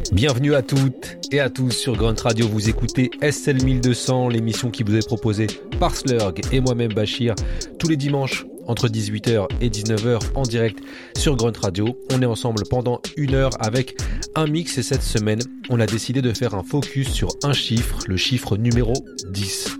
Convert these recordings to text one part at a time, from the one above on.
Bienvenue à toutes et à tous sur Grunt Radio, vous écoutez SL 1200, l'émission qui vous est proposée par Slurg et moi-même Bachir, tous les dimanches entre 18h et 19h en direct sur Grunt Radio. On est ensemble pendant 1 heure avec un mix et cette semaine, on a décidé de faire un focus sur un chiffre, le chiffre numéro 10.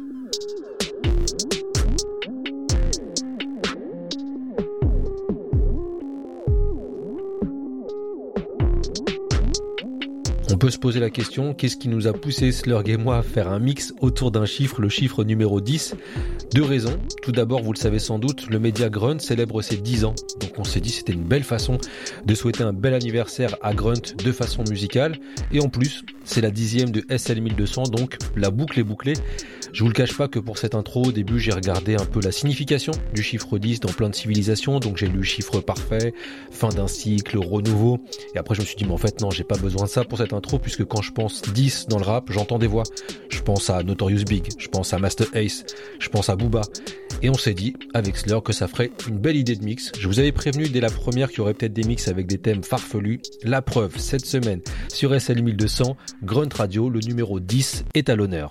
On peut se poser la question, qu'est-ce qui nous a poussé Slurg et moi à faire un mix autour d'un chiffre, le chiffre numéro 10 ? Deux raisons. Tout d'abord, vous le savez sans doute, le média Grunt célèbre ses 10 ans. Donc on s'est dit c'était une belle façon de souhaiter un bel anniversaire à Grunt de façon musicale. Et en plus, c'est la 10e de SL 1200, donc la boucle est bouclée. Je vous le cache pas que pour cette intro, au début, j'ai regardé un peu la signification du chiffre 10 dans plein de civilisations. Donc j'ai lu chiffre parfait, fin d'un cycle, renouveau. Et après je me suis dit, mais en fait non, j'ai pas besoin de ça pour cette intro, puisque quand je pense 10 dans le rap, j'entends des voix. Je pense à Notorious Big, je pense à Master Ace, je pense à Booba. Et on s'est dit, avec Slurg, que ça ferait une belle idée de mix. Je vous avais prévenu dès la première qu'il y aurait peut-être des mix avec des thèmes farfelus. La preuve, cette semaine, sur SL 1200, Grunt Radio, le numéro 10 est à l'honneur.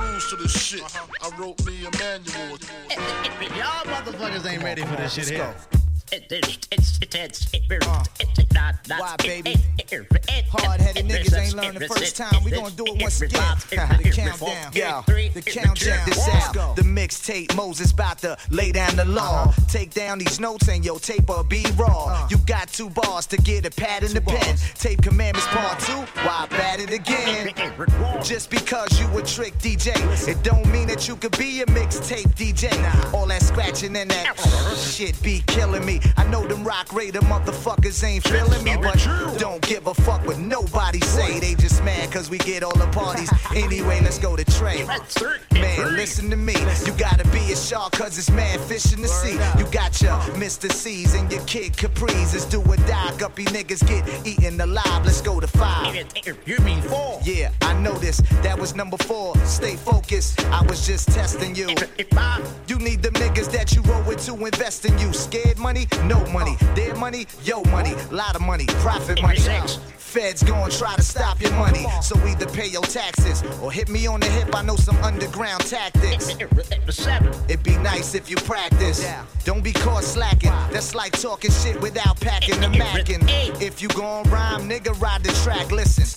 Why, baby? Hard-headed niggas ain't learned the first time. We gonna do it once again. The countdown. Yo, the countdown. Check this out. The mixtape Moses about to lay down the law. Take down these notes and your tape or be raw. You got 2 bars to get a pad in the pen. Tape Commandments Part 2. Why bat it again? Just because you a trick DJ, it don't mean that you could be a mixtape DJ. All that scratching and that shit be killing me. I know them rock raider motherfuckers ain't feeling me, but don't give a fuck what nobody say. They just mad cause we get all the parties. Anyway, let's go to Trey. Man, listen to me. You gotta be a shark cause it's mad fish in the sea. You got your Mr. C's and your Kid Capris. It's do or die. Guppy niggas get eaten alive. Let's go to 5. You mean 4? Yeah, I know this. That was number 4. Stay focused. I was just testing you. You need them niggas that you roll with to invest in you. Scared money? No money. Their money? Yo money. Lot of money. Profit money. Feds gon' try to stop your money. So either pay your taxes or hit me on the hip. I know some underground tactics. It'd be nice if you practice. Don't be caught slacking. That's like talking shit without packing the mackin'. If you gon' rhyme, nigga, ride the track. Listen.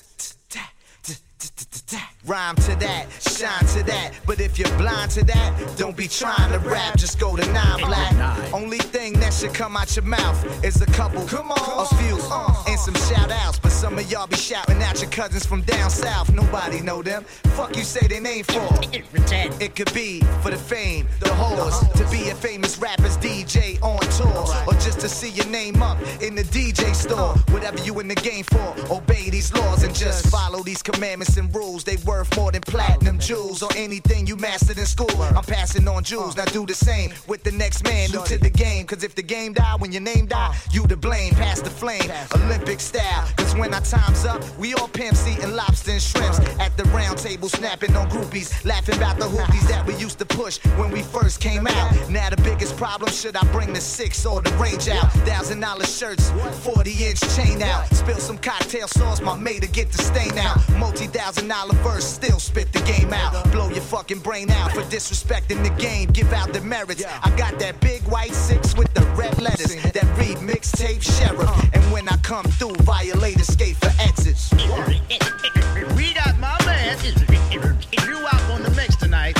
Rhyme to that, shine to that. But if you're blind to that, don't be trying to rap. Just go to 9 Black. Only thing that should come out your mouth is a couple, a few, and some shout outs. But some of y'all be shouting at your cousins from down south. Nobody know them. Fuck you say their name for? It could be for the fame, the hoes, to be a famous rapper's DJ on tour, or just to see your name up in the DJ store. Whatever you in the game for, obey these laws and just follow these commandments and rules. They worth more than platinum jewels or anything you mastered in school. I'm passing on jewels, now do the same with the next man new to the game. Cause if the game die, when your name die, you to blame. Pass the flame, Olympic style. Cause when our time's up, we all pimps eating lobster and shrimps at the round table, snapping on groupies, laughing about the hoopies that we used to push when we first came out. Now the biggest problem, should I bring the 6 or the range out? $1,000 shirts, 40-inch chain out. Spill some cocktail sauce, my mate to get the stain out. Multi-$1,000 verse, still spit the game out. Blow your fucking brain out for disrespecting the game. Give out the merits. I got that big white 6 with the red letters that read mixtape sheriff. And when I come through, violate escape for exits. We got my man. If you out on the mix tonight,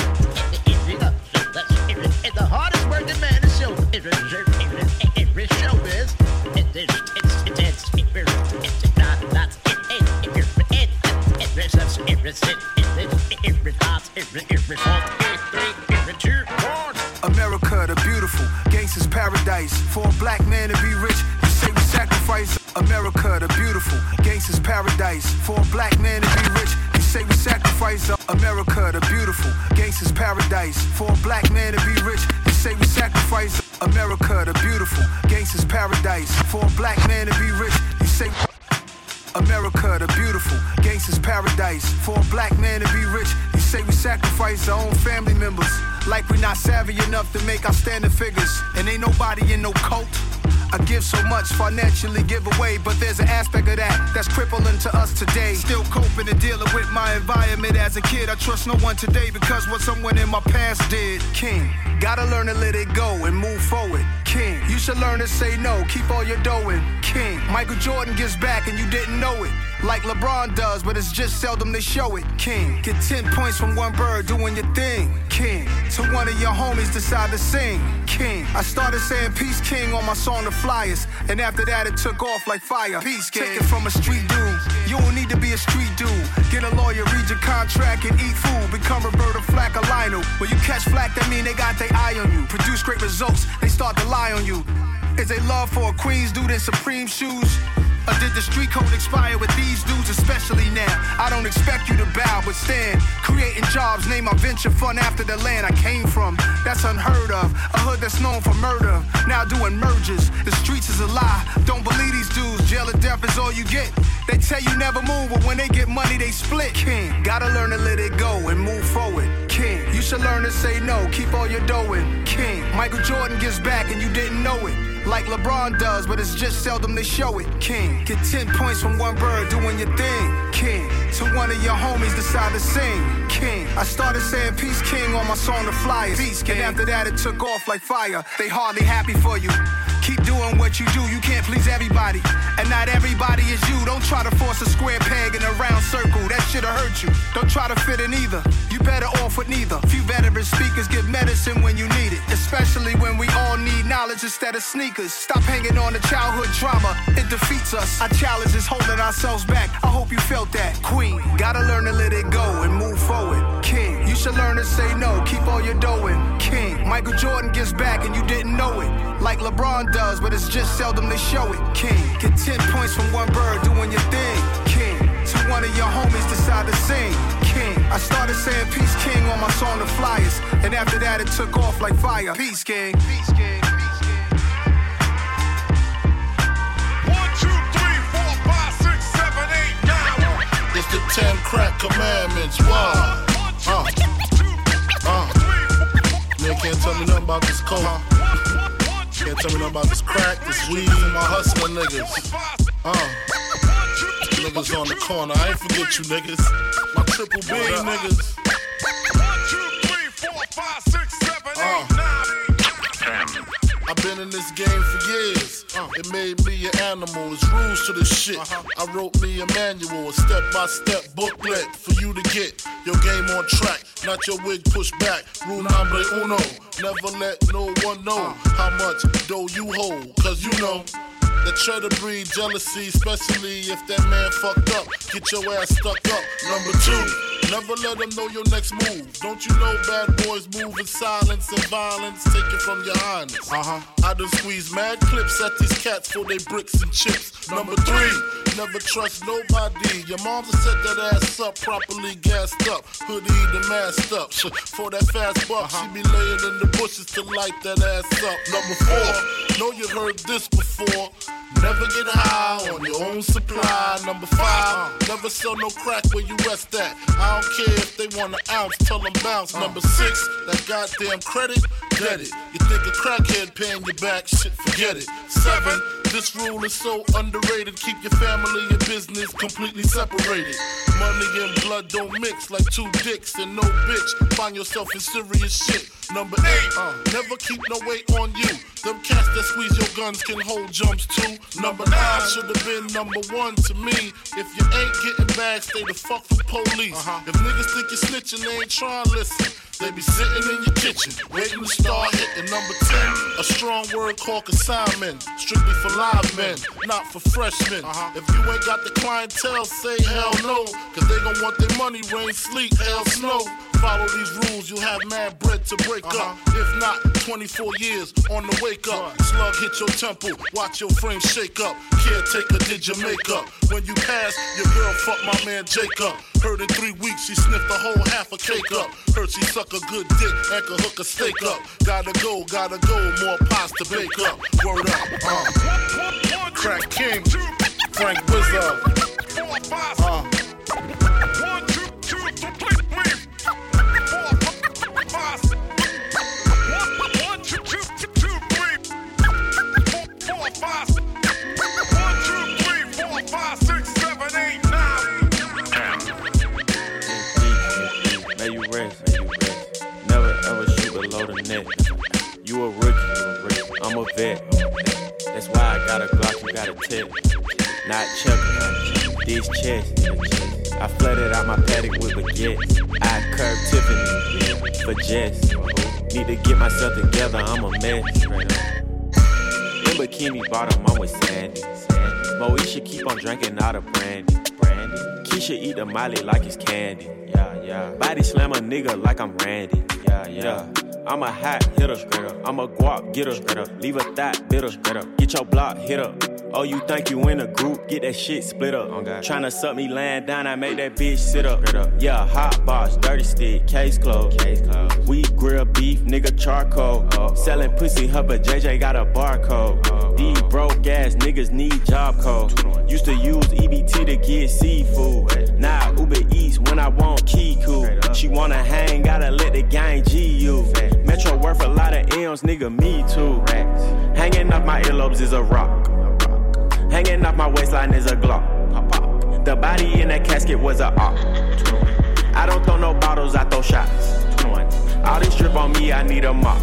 the hardest working man in show. Showbiz. America the beautiful, gangsters paradise. For a black man to be rich, you say we sacrifice. America the beautiful, gangsters paradise. For a black man to be rich, you say we sacrifice. America the beautiful, gangsters paradise. For a black man to be rich, you say we sacrifice. America the beautiful, gangsters paradise. For a black man to be rich, you say America the beautiful, gangsters paradise. For a black man to be rich, you say we sacrifice our own family members. Like we not savvy enough to make outstanding figures. And ain't nobody in no cult. I give so much financially give away, but there's an aspect of that that's crippling to us today. Still coping and dealing with my environment as a kid. I trust no one today because what someone in my past did. King, gotta learn to let it go and move forward. King, you should learn to say no, keep all your dough in. King, Michael Jordan gives back and you didn't know it. Like LeBron does, but it's just seldom they show it. King, get 10 points from one bird doing your thing. King, to one of your homies decide to sing. King, I started saying peace king on my song The Flyers, and after that it took off like fire. Peace king. Take it from a street dude, you don't need to be a street dude. Get a lawyer, read your contract and eat food. Become Roberta Flack or Lionel. When you catch flack, that mean they got their eye on you. Produce great results, they start to lie on you. Is they love for a Queens dude in Supreme shoes? Or did the street code expire with these dudes, especially now? I don't expect you to bow, but stand. Creating jobs, name my venture fund after the land I came from. That's unheard of. A hood that's known for murder, now doing mergers. The streets is a lie. Don't believe these dudes. Jail or death is all you get. They tell you never move, but when they get money, they split. King, gotta learn to let it go and move forward. King, you should learn to say no, keep all your dough in. King, Michael Jordan gives back and you didn't know it. Like LeBron does, but it's just seldom they show it. King, get 10 points from one bird doing your thing. King, to one of your homies decide to sing. King, I started saying peace king on my song The Flyers. Peace king. And after that it took off like fire. They hardly happy for you. Keep doing what you do, you can't please everybody. And not everybody is you. Don't try to force a square peg in a round circle, that shit'll hurt you. Don't try to fit in either, you better off with neither. Few veteran speakers get medicine when you need it, especially when we all need knowledge instead of sneakers. Stop hanging on to childhood trauma, it defeats us. Our challenge is holding ourselves back, I hope you felt that. Queen, gotta learn to let it go and move forward. King, you should learn to say no, keep all your dough in. King, Michael Jordan gives back and you didn't know it. Like LeBron does, but it's just seldom they show it. King, get 10 points from one bird doing your thing. King, to one of your homies decide to sing. King, I started saying peace king on my song The Flyers, and after that it took off like fire. Peace king. Peace king. 1, 2, 3, 4, 5, 6, 7, 8, 9. It's the 10 crack commandments. Wow. Man can't tell me nothing about this coke. Can't tell me nothing about this crack, this weed, and my hustling niggas. Niggas on the corner, I ain't forget you niggas. My triple B niggas. 1, 2, 3, 4, 5, 6, 7, 8, 9. I've been in this game for years. It made me an animal. It's rules to this shit. I wrote me a manual, a step-by-step booklet for you to get your game on track. Not your wig pushed back. Rule number uno. Never let no one know how much dough you hold. Cause you know that try to breed jealousy, especially if that man fucked up. Get your ass stuck up. Number 2, never let them know your next move. Don't you know bad boys move in silence and violence? Take it from your highness. I done squeeze mad clips at these cats for they bricks and chips. Number 3, never trust nobody. Your mom's set that ass up, properly gassed up, hoodie the masked up. For that fast buck, she be laying in the bushes to light that ass up. Number 4, know you heard this before. Never get high on your own supply. Number 5, never sell no crack where you rest at. I don't care if they want an ounce, tell them bounce. Number 6, that goddamn credit, get it. You think a crackhead paying you back, shit, forget it. 7, this rule is so underrated. Keep your family and business completely separated. Money and blood don't mix like 2 dicks and no bitch. Find yourself in serious shit. Number 8, never keep no weight on you. Them cats that squeeze your guns can hold jumps too. Number 9 should have been number 1 to me. If you ain't getting back, stay the fuck from police. If niggas think you're snitching, they ain't trying to listen. They be sitting in your kitchen, waiting to start hitting. Number 10, a strong word called consignment. Strictly for live men, not for freshmen. If you ain't got the clientele, say hell no. Cause they gon' want their money, rain, sleet, hell, snow. Follow these rules, you'll have mad bread to break up. If not, 24 years on the wake up. Slug hit your temple, watch your frame shake up. Caretaker did your makeup. When you pass, your girl fucked my man Jacob. Heard in 3 weeks she sniffed a whole half a cake up. Heard she suck a good dick and could hook a steak up. Gotta go, more pies to bake up. Word up, Crack King, Frank Wizard. 4, 5, 1, 2, 3, 4, 5. 1, 2, 2, 2, 3, 4, 5. checker. These chests. I flooded out my paddock with baguettes. I curved Tiffany for Jess. Need to get myself together, I'm a mess. In bikini bottom, I'm with Sandy. Moesha keep on drinking out of brandy. Keisha eat the Molly like it's candy. Yeah. Body slam a nigga like I'm Randy. Yeah. I'm a hot hitter, I'm a guap getter, leave a thought bitter, get your block hit up. Oh, you think you in a group, get that shit split up. Tryna suck me laying down, I make that bitch sit up. Yeah, hot box, dirty stick, case closed. We grill beef, nigga charcoal. Selling pussy, her but JJ got a barcode. These broke ass niggas need job code. Used to use EBT to get seafood. Now Uber Eats when I want Kiku. She wanna hang, gotta let the gang G you. Metro worth a lot of M's, nigga, me too. Hanging off my earlobes is a rock. Hanging off my waistline is a Glock. The body in that casket was a op. I don't throw no bottles, I throw shots. All this drip on me, I need a mop.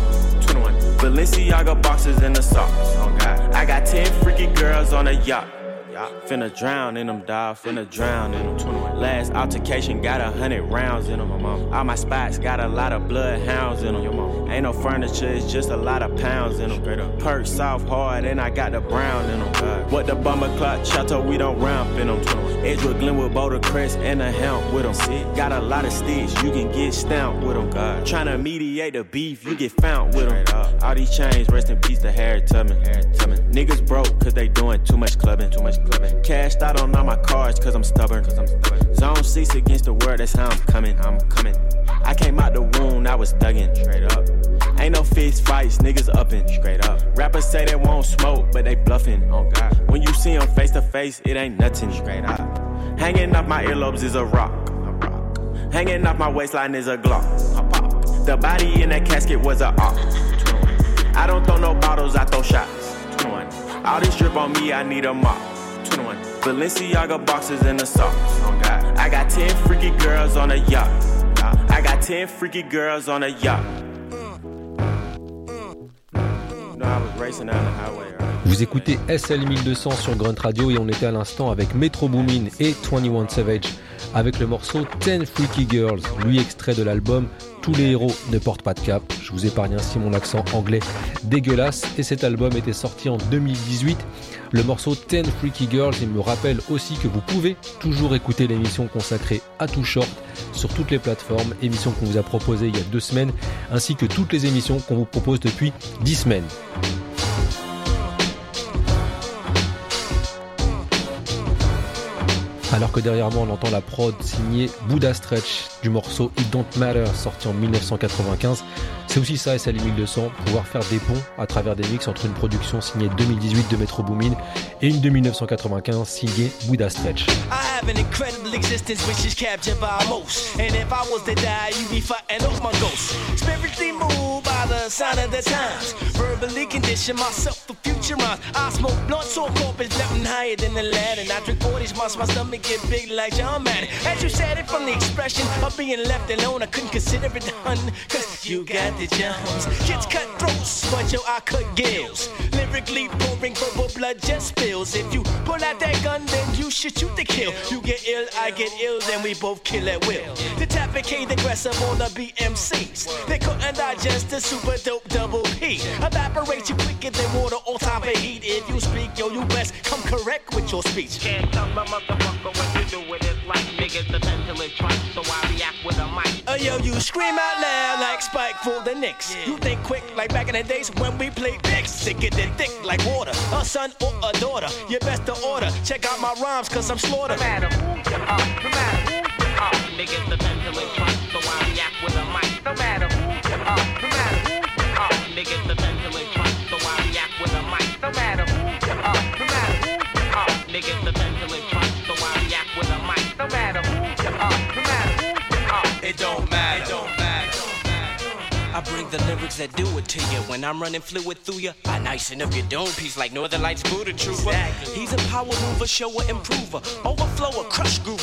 Balenciaga boxes in the socks. I got 10 freaky girls on a yacht. Finna drown in them, dawg, finna drown in them. Last altercation got 100 rounds in them. All my spots got a lot of bloodhounds in them. Ain't no furniture, it's just a lot of pounds in them. Perk soft hard and I got the brown in them. What the bomber clock chateau, we don't ramp in them. Edgewood, Glenwood, Boulder Crest and a helm with them. Got a lot of sticks, you can get stamped with them. Tryna mediate the beef, you get found with them. All these chains, rest in peace to Harriet Tubman. Niggas broke cause they doing too much clubbing. Cashed out on all my cards cause I'm stubborn. Zone 6 against the world, that's how I'm coming. I came out the wound, I was thuggin'. Straight up. Ain't no fist fights, niggas uppin'. Straight up. Rappers say they won't smoke, but they bluffin'. Oh God. When you see them face to face, it ain't nothing. Straight up. Hanging off my earlobes is a rock. Hanging off my waistline is a Glock. The body in that casket was a op. I don't throw no bottles, I throw shots. All this drip on me, I need a mop. Balenciaga boxes in the socks. I got 10 freaky girls on a yacht. I got 10 freaky girls on a yacht. No, I was racing down the highway. Vous écoutez SL 1200 sur Grunt Radio et on était à l'instant avec Metro Boomin et 21 Savage avec le morceau 10 Freaky Girls, lui extrait de l'album Tous les héros ne portent pas de cap. Je vous épargne ainsi mon accent anglais dégueulasse et cet album était sorti en 2018. Le morceau 10 Freaky Girls, il me rappelle aussi que vous pouvez toujours écouter l'émission consacrée à Too Short sur toutes les plateformes, émission qu'on vous a proposée il y a 2 semaines, ainsi que toutes les émissions qu'on vous propose depuis 10 semaines. Alors que derrière moi on entend la prod signée Buddha Stretch du morceau It Don't Matter sorti en 1995. C'est aussi ça SL 1200, pouvoir faire des ponts à travers des mix entre une production signée 2018 de Metro Boomin et une de 1995 signée Buddha Stretch. I have an incredible existence which is captured by most. And if I was to die, you'd be fighting off my ghost. Spiritually moved by the sign of the times. Verbally condition myself for future rhymes. I smoke blunt, so corpus nothing higher than the land. And I drink 40s, my stomach get big like John Madden. As you said it from the expression of being left alone, I couldn't consider it done. Cause you got the jumps. Kids cut throats, but yo, I cut gills. Lyrically pouring verbal blood just spills. If you pull out that gun, then you should shoot to kill. You get ill, I get ill, then we both kill at will. The Tapicade aggressive on the BMCs. They couldn't digest the super dope double P. Evaporate you quicker than water on top of heat. If you speak, yo, you best come correct with your speech. Can't tell my motherfucker what you do with his life. Niggas the mentally trust, so I react with a mic. Yo, you scream out loud like Spike for the Knicks. Yeah. You think quick like back in the days when we played Knicks. Sicker than thick like water, a son or a daughter. You best to order. Check out my rhymes cause I'm slaughtered. No matter who you are, no matter who you are. Niggas the mentally trust, so I react with a mic. No matter who you are, no matter who you are. Niggas the mentally trust, so I react with a mic. No matter who you are, no matter who you are. Niggas the mentally trust, so I react with a mic. No matter who you are, no matter who you are. It don't matter. It don't matter. I bring the lyrics that do it to you. When I'm running fluid through you, I nicen up your dome piece like Northern Lights Buddha Trooper. Exactly. He's a power mover, shower, improver, overflower, crush groover with the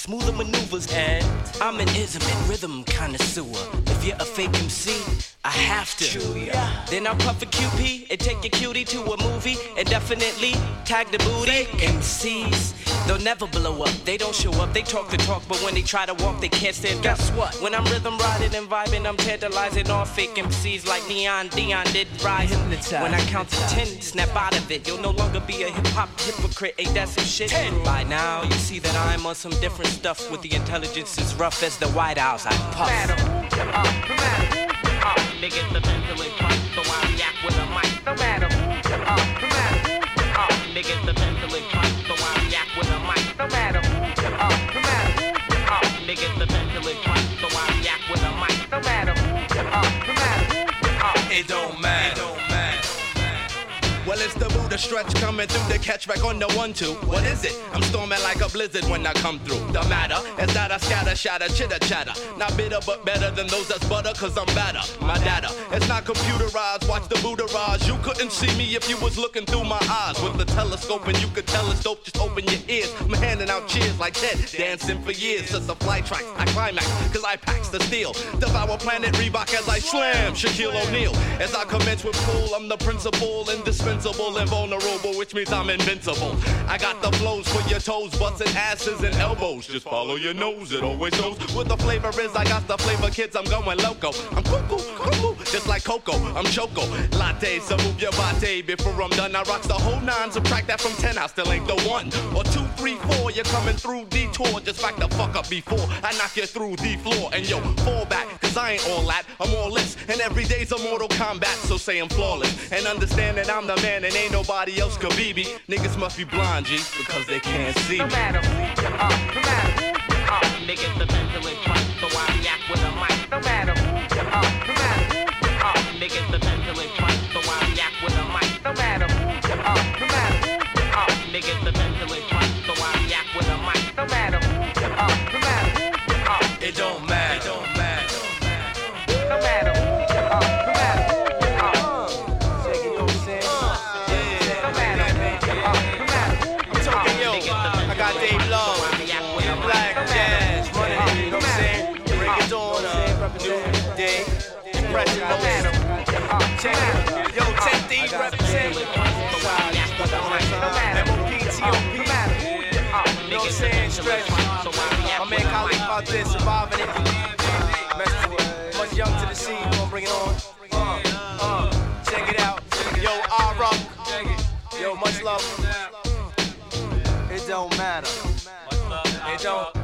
smoother maneuvers. And I'm an ism and rhythm connoisseur. If you're a fake MC, I have to. Then I'll puff a QP and take your cutie to a movie and definitely tag the booty. MCs, they'll never blow up. They don't show up, they talk the talk, but when they try to walk, they can't stand. Guess what? When I'm rhythm riding and vibing, I'm tantalizing all fake MCs like Dion did rise. When I count to 10, snap out of it. You'll no longer be a hip-hop hypocrite. Ain't that some shit? 10. By now, you see that I'm on some different stuff with the intelligence as rough as the White House. I puff. Niggas the mentally fuck, so I react with a mic. No matter who, niggas the mentally fuck, so I react with a mic. No matter who, niggas the mentally fuck, so I react with a mic. No matter who, it don't matter. Well, it's the Buddha stretch coming through the catch back on the 1-2. What is it? I'm storming like a blizzard when I come through. The matter is that I scatter, shatter, chitter, chatter. Not bitter, but better than those that's butter, cause I'm better. My data, it's not computerized. Watch the Buddha rise. You couldn't see me if you was looking through my eyes. With the telescope and you could tell it's dope, just open your ears. I'm handing out cheers like Ted, dancing for years. Since the flight tracks, I climax, cause I packs the steel. Devour planet Reebok as I slam Shaquille O'Neal. As I commence with cool, I'm the principal, indispensable. Invulnerable, which means I'm invincible. I got the flows for your toes, busting asses and elbows. Just follow your nose, it always knows what the flavor is. I got the flavor, kids, I'm going loco. I'm cuckoo, just like Coco. I'm choco, latte, so move your body. Before I'm done, I rocks the whole 9. Subtract that from 10, I still ain't the 1. Or 2, 3, 4, you're coming through detour. Just back the fuck up before I knock you through the floor. And yo, fall back, cause I ain't all that. I'm all this, and every day's a Mortal Kombat. So say I'm flawless, and understand that I'm the man and ain't nobody else could be me. Niggas must be blind, G, because they can't see me. No matter who, niggas the mentally fuck, so I react with a mic. No matter who, niggas the mentally fuck, so I react with a mic. No matter who, niggas the mentally fuck, so I react with a mic. No matter who, it don't matter. It don't matter. No matter who, Check it. Yo, 10D represent. MOPTOP. You know what I'm saying? Stretch. My man Khalid about this, surviving it. Much young to the scene, gonna bring it on. Check it out. Yo, R-Rock. Yo, much love. It don't matter. It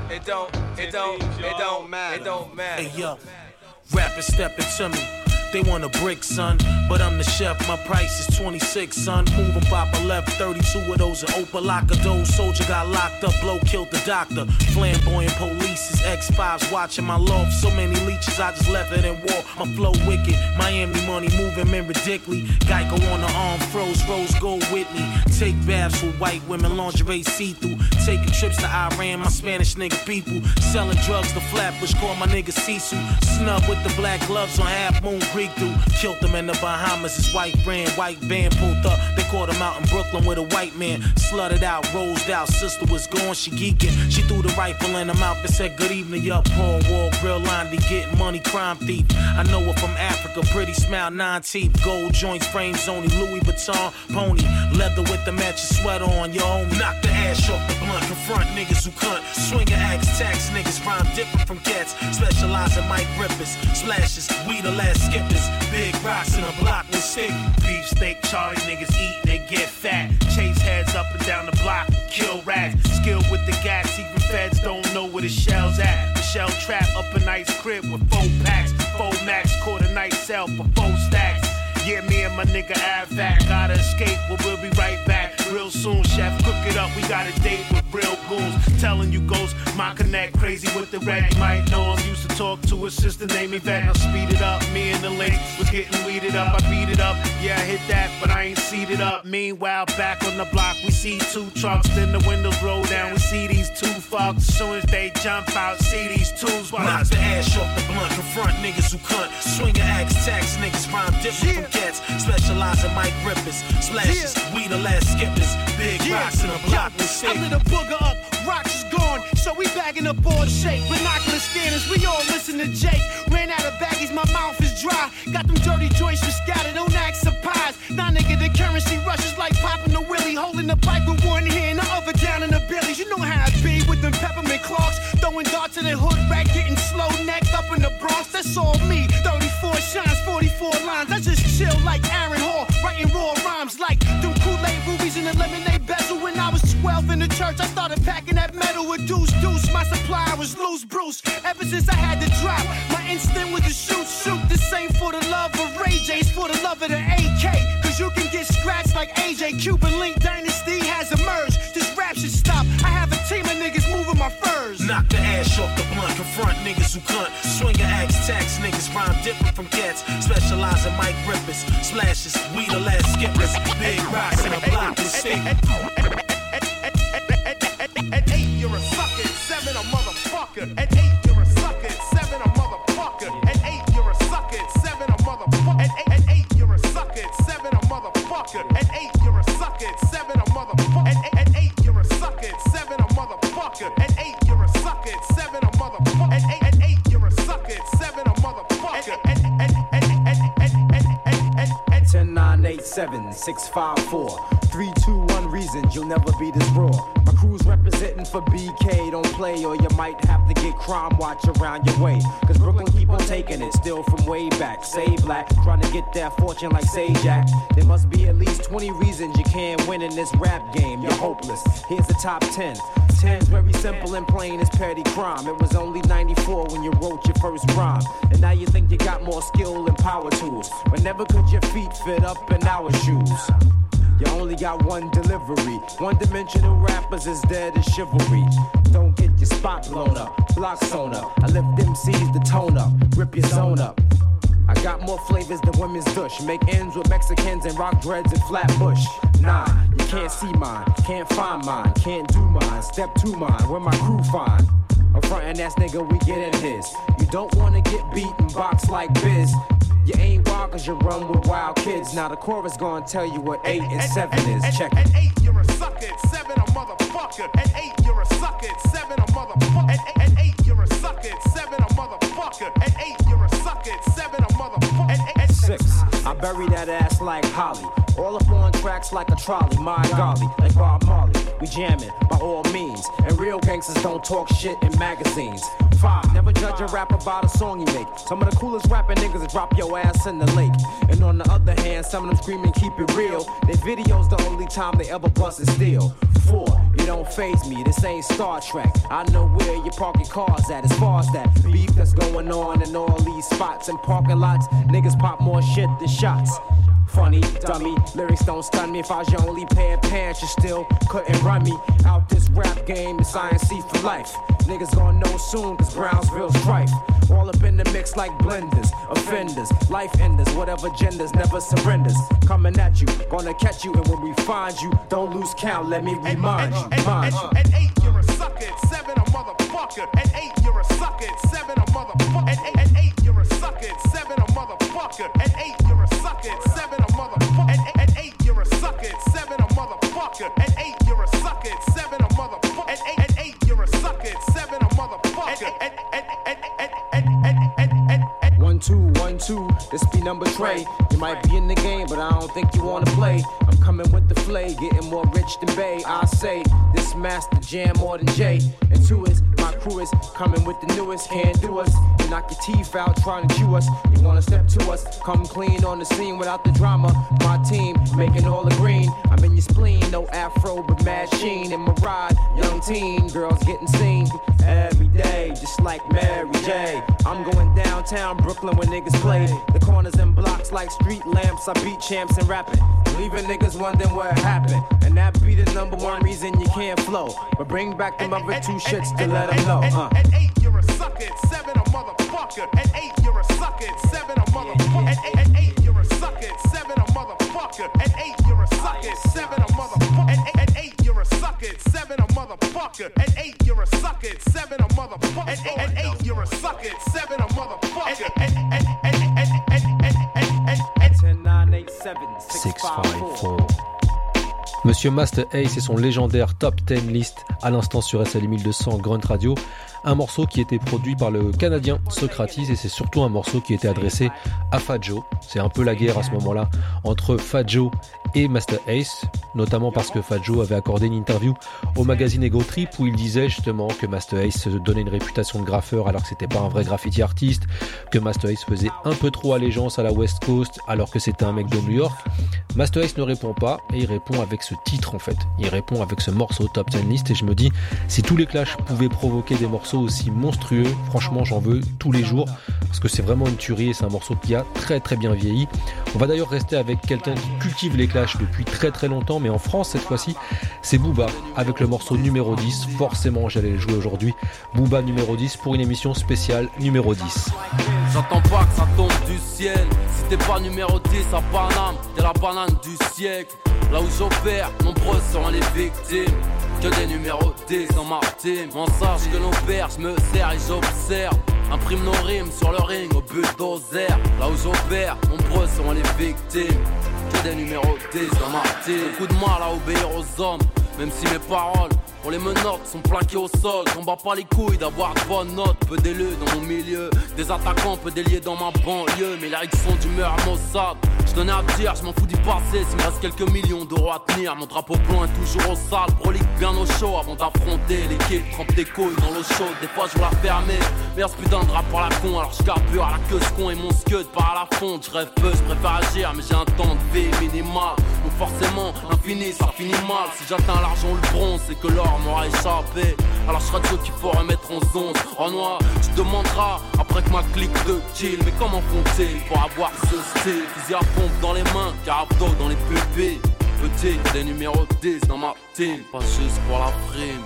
don't matter. Hey, yo, rappers stepping to me. They want a brick, son, but I'm the chef. My price is 26, son. Moving pop left, 32 of those are Opalaka. Soldier got locked up, blow killed the doctor. Flamboyant police is X5s watching my loft. So many leeches, I just left it in war. My flow wicked, Miami money moving men ridiculously. Geico on the arm, froze, rose gold with me. Take baths with white women, lingerie see-through. Taking trips to Iran, my Spanish nigga people. Selling drugs to Flatbush, call my nigga Sisu. Snub with the black gloves on Half Moon Creek through. Killed them in the Bahamas, his white brand, white band pulled up. They caught him out in Brooklyn with a white man. Slutted out, rosed out, sister was gone, she geeking. She threw the rifle in her mouth and said, good evening, yup, Paul Wall, grill line, be getting money, crime thief. I know her from Africa, pretty smile, 9 teeth, gold joints, frames only, Louis Vuitton, pony, leather with the matching sweater on, your homie. Knock the ash off the blunt, confront niggas who cunt. Swing your axe, tax niggas, rhyme different from cats. Specialize in mic rippers, splashes, we the last skippers. Big rocks in a block with stick. Beef steak, Charlie niggas eat, they get fat. Chase heads up and down the block, kill rats. Skill with the gas, even feds don't know where the shell's at. The shell trap up a nice crib with 4 packs. 4 max, caught a nice sell for 4 stacks. Yeah, me and my nigga Avac gotta escape, but we'll be right back real soon. Chef, cook it up, we got a date with real goons. Telling you ghosts, my connect crazy with the red. You might know him, used to talk to his sister named Yvette. Now speed it up, me and the link was getting weeded up. I beat it up, yeah, I hit that, but I ain't seated up. Meanwhile, back on the block, we see 2 trucks, then the windows roll down. We see these 2 fucks, as soon as they jump out, see these 2s. Knock the ash off the blunt, confront niggas who cunt. Swing your axe, tax niggas, rhyme different from cats. Specialize in mic rippers, splashes, we the last skippers. Big rocks in the block with stick. I lit a booger up, rocks is gone, so we back bagging up all shake. Binocular scanners, we all listen to Jake. Ran out of baggies, my mouth is dry. Got them dirty joints for scattered, don't act surprised. Nah, nigga, the currency rushes like popping a willy. Holding the pipe with one hand, the other down in the billies. You know how it be with them peppermint clocks. Throwing darts in the hood, rack getting slow necked up in the Bronx. That's all me. 34 shines, 44 lines. I just chill like Aaron Hall, writing raw rhymes like them Kool-Aid rubies in the lemonade bezel. When I was 12 in the church, I started packing that metal with deuce. My supply was loose, Bruce. Ever since I had to drop, my instinct was to shoot. This ain't for the love of Ray J, it's for the love of the AK. Cause you can get scratched like AJ. Cuban Link Dynasty has emerged. This rap should stop. I have a team of niggas moving my furs. Knock the ash off the blunt, confront niggas who cunt. Swing your axe, tax niggas, rhyme different from cats. Specialize in mic rippers, splashes, we the last skippers. Big rocks in a block with stick. At 8, you're a sucker. At 7, a motherfucker. At 8, you're a sucker. At 7, a motherfucker. At 8, you're a sucker. At 7, a motherfucker. At 8, you're a sucker. At 7, a motherfucker. At 8, you're a sucker. At 7, a motherfucker. At 8, you're a sucker. At 7, a motherfucker. At 8, you're a sucker. At 7, a motherfucker. At 8, you're a sucker. At 7, a motherfucker. 10, 9, 8, 7, 6, 5, 4, 3, 2, 1 reasons you'll never be this raw. My crew's representing for BK, don't play or you might have to get crime watch around your way. Cause Brooklyn keep on taking it, still from way back. Say black, trying to get that fortune like Sajak. There must be at least 20 reasons you can't win in this rap game, you're hopeless. Here's the top 10. 10's very simple and plain as petty crime. It was only 94 when you wrote your first rhyme. And now you think you got more skill and power tools, but never could your feet fit up in our shoes. You only got one delivery. One-dimensional rappers is dead as chivalry. Don't get your spot blown up, block sewn up. I lift MCs to tone up, rip your zone up. I got more flavors than women's dush. Make ends with Mexicans and rock dreads and Flatbush. Nah, you can't see mine, can't find mine, can't do mine. Step to mine, where my crew find. A frontin' ass nigga, we get in his. You don't wanna get beat and box like Biz. You ain't wild cause you run with wild kids. Now the chorus gonna tell you what 8 and 7 is. Check it. At 8, you're a sucker. At 7, a motherfucker. At 8, you're a sucker. At 7, a motherfucker. At 8, you're a sucker. At 7, a motherfucker. At 8, you're a sucker. At 7, a motherfucker. At 6, I bury that ass like Holly. All up on tracks like a trolley, my golly, like Bob Marley. We jamming by all means, and real gangsters don't talk shit in magazines. 5, never judge a rapper by the song you make. Some of the coolest rapping niggas drop your ass in the lake. And on the other hand, some of them screaming keep it real. Their videos the only time they ever bust and steal. 4, you don't faze me, this ain't Star Trek. I know where you park your cars at. As far as that beef that's going on in all these spots and parking lots, niggas pop more shit than shots. Funny, dummy, lyrics don't stun me. If I was your only pair of pants, you still couldn't run me. Out this rap game, it's INC for life. Niggas gonna know soon, cause Brownsville's strife. All up in the mix like blenders, offenders, life enders, whatever genders, never surrenders. Coming at you, gonna catch you, and when we find you, don't lose count, let me remind you. At 8, you're a sucker. At 7, a motherfucker. At 8, you're a sucker. At 7, a motherfucker. At 8, you're a sucker. At 7, a motherfucker. At 8, you're a sucker. At 7, a motherfucker. At 8, you're a sucker. At 7, a motherfucker. At 8, you're a sucker. At 7, a motherfucker. At 8, you're a sucker. At 7, a motherfucker. 1, 2, 1, 2, this be number Trey. You might be in the game, but I don't think you wanna play. I'm coming with the flay, getting more rich than Bay. I say, this master jam more than Jay. And 2 is, my crew is coming with the newest. Can't do us, you knock your teeth out trying to chew us. You wanna step to us, come clean on the scene without the drama. My team, making all the green. I'm in your spleen, no afro, but mad sheen. In my ride, young teen, girls getting seen. Every day, just like Mary J. I'm going downtown Brooklyn when niggas play. The corners and blocks like street lamps. I beat champs and rapping, leaving niggas wondering what happened. And that be the number 1 reason you can't flow. But bring back them other 2 shits to let them know. At 8, you're a sucker. At 7, a motherfucker. At 8, you're a sucker. At 7, a motherfucker. At 8, you're a sucker. At 7, a motherfucker. At 8, you're a sucker. At 7, a motherfucker. At 8, you're a sucker. At 7, a motherfucker. At 8, you're a sucker. At 7, a motherfucker. At 8, you're a sucker. At 7, a motherfucker. 10, 9, 8, 7, 6, 5, 4. Monsieur Master Ace et son légendaire Top 10 List à l'instant sur SL 1200 Grunt Radio. Un morceau qui était produit par le Canadien Socrates et c'est surtout un morceau qui était adressé à Fat Joe. C'est un peu la guerre à ce moment-là entre Fat Joe et Master Ace, notamment parce que Fat Joe avait accordé une interview au magazine Ego Trip où il disait justement que Master Ace se donnait une réputation de graffeur alors que c'était pas un vrai graffiti artiste, que Master Ace faisait un peu trop allégeance à la West Coast alors que c'était un mec de New York. Master Ace ne répond pas et il répond avec ce titre en fait. Il répond avec ce morceau Top 10 List et je me dis si tous les Clash pouvaient provoquer des morceaux aussi monstrueux, franchement j'en veux tous les jours parce que c'est vraiment une tuerie et c'est un morceau qui a très très bien vieilli. On va d'ailleurs rester avec quelqu'un qui cultive les Clash depuis très très longtemps mais en France cette fois-ci c'est Booba avec le morceau numéro 10. Forcément j'allais le jouer aujourd'hui. Booba numéro 10 pour une émission spéciale numéro 10. J'attends pas que ça tombe du ciel. Si t'es pas numéro 10 à Paname, t'es la banane du siècle. Là où j'opère, nombreuses sont les victimes. Que des numéros 10 dans ma team. On sache que nos pères, je me sers et j'observe. Imprime nos rimes sur le ring au bulldozer. Là où j'opère, nombreuses sont les victimes. Que des numéros 10 dans ma team. Beaucoup de mal à obéir aux hommes, même si mes paroles pour les menottes sont plaquées au sol. J'en bats pas les couilles d'avoir de bonnes notes. Peu d'élus dans mon milieu, des attaquants, peu déliés dans ma banlieue. Mais là ils sont d'humeur Mossad. Je tenais à dire, je m'en fous du passé. S'il me reste quelques millions d'euros à tenir, mon drapeau blanc est toujours au sale. Prolique bien au chaud avant d'affronter l'équipe. Trempe tes couilles dans l'eau chaude, des fois je veux la fermer. Merde, ce putain de rap par la con, alors je carbure à la queue ce con et mon scud part à la fonte. Je rêve peu, je préfère agir, mais j'ai un temps de vie minimal. Donc forcément, l'infini ça finit mal. Si j'atteins l'argent ou le bronze, c'est que l'or m'aura échappé. Alors je serai de ceux qu'il faut remettre en zone. En noir, tu te demanderas après que ma clique de kill. Mais comment font-ils pour avoir ce style? Fusil à pompe dans les mains, carabdo dans les pupilles. Petit, des numéros 10 dans ma team, pas juste pour la prime.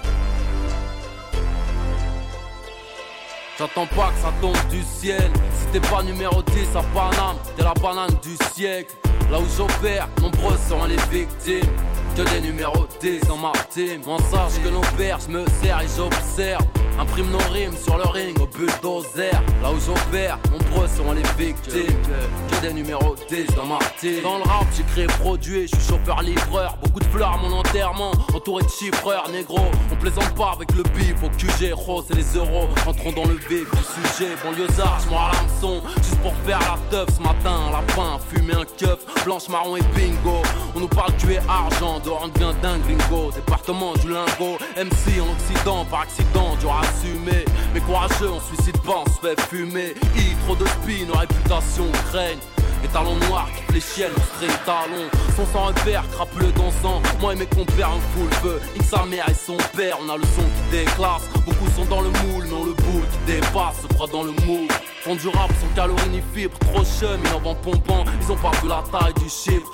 J'attends pas que ça tombe du ciel. Si t'es pas numéro 10 à Paname, t'es la banane du siècle. Là où j'opère, nombreuses sont les victimes. Que des numéros 10 dans ma team. On sache que nos pères, je me sers et j'observe. Imprime nos rimes sur le ring au bulldozer. Là où j'opère, nombreux sont les victimes. Que des numéros 10 dans ma team. Dans le rap, j'ai créé produit, je suis chauffeur-livreur. Beaucoup de fleurs à mon enterrement, entouré de chiffreurs, négro. On plaisante pas avec le bif au QG, rose et les euros. Entrons dans le vif du sujet, banlieusard, je m'en à l'hameçon. Juste pour faire la teuf ce matin, un lapin, fumer un keuf. Blanche, marron et bingo. On nous parle tuer argent, dehors on devient d'un gringo. Département du lingot, MC en Occident, par accident, dur à assumer. Mais courageux, on suicide pas, on se fait fumer. Trop de spin, nos réputations craignent. Les talons noirs qui fléchiennent, les talons. Son sans repère, crapuleux dansant. Moi et mes compères, on fout le feu. Nique sa mère et son père, on a le son qui déclasse. Beaucoup sont dans le moule, mais on le boule qui dépasse, se croit dans le moule. Font du rap sans calories ni fibres, trop chum, ils en vendent pompant. Ils ont pas vu la taille du chiffre.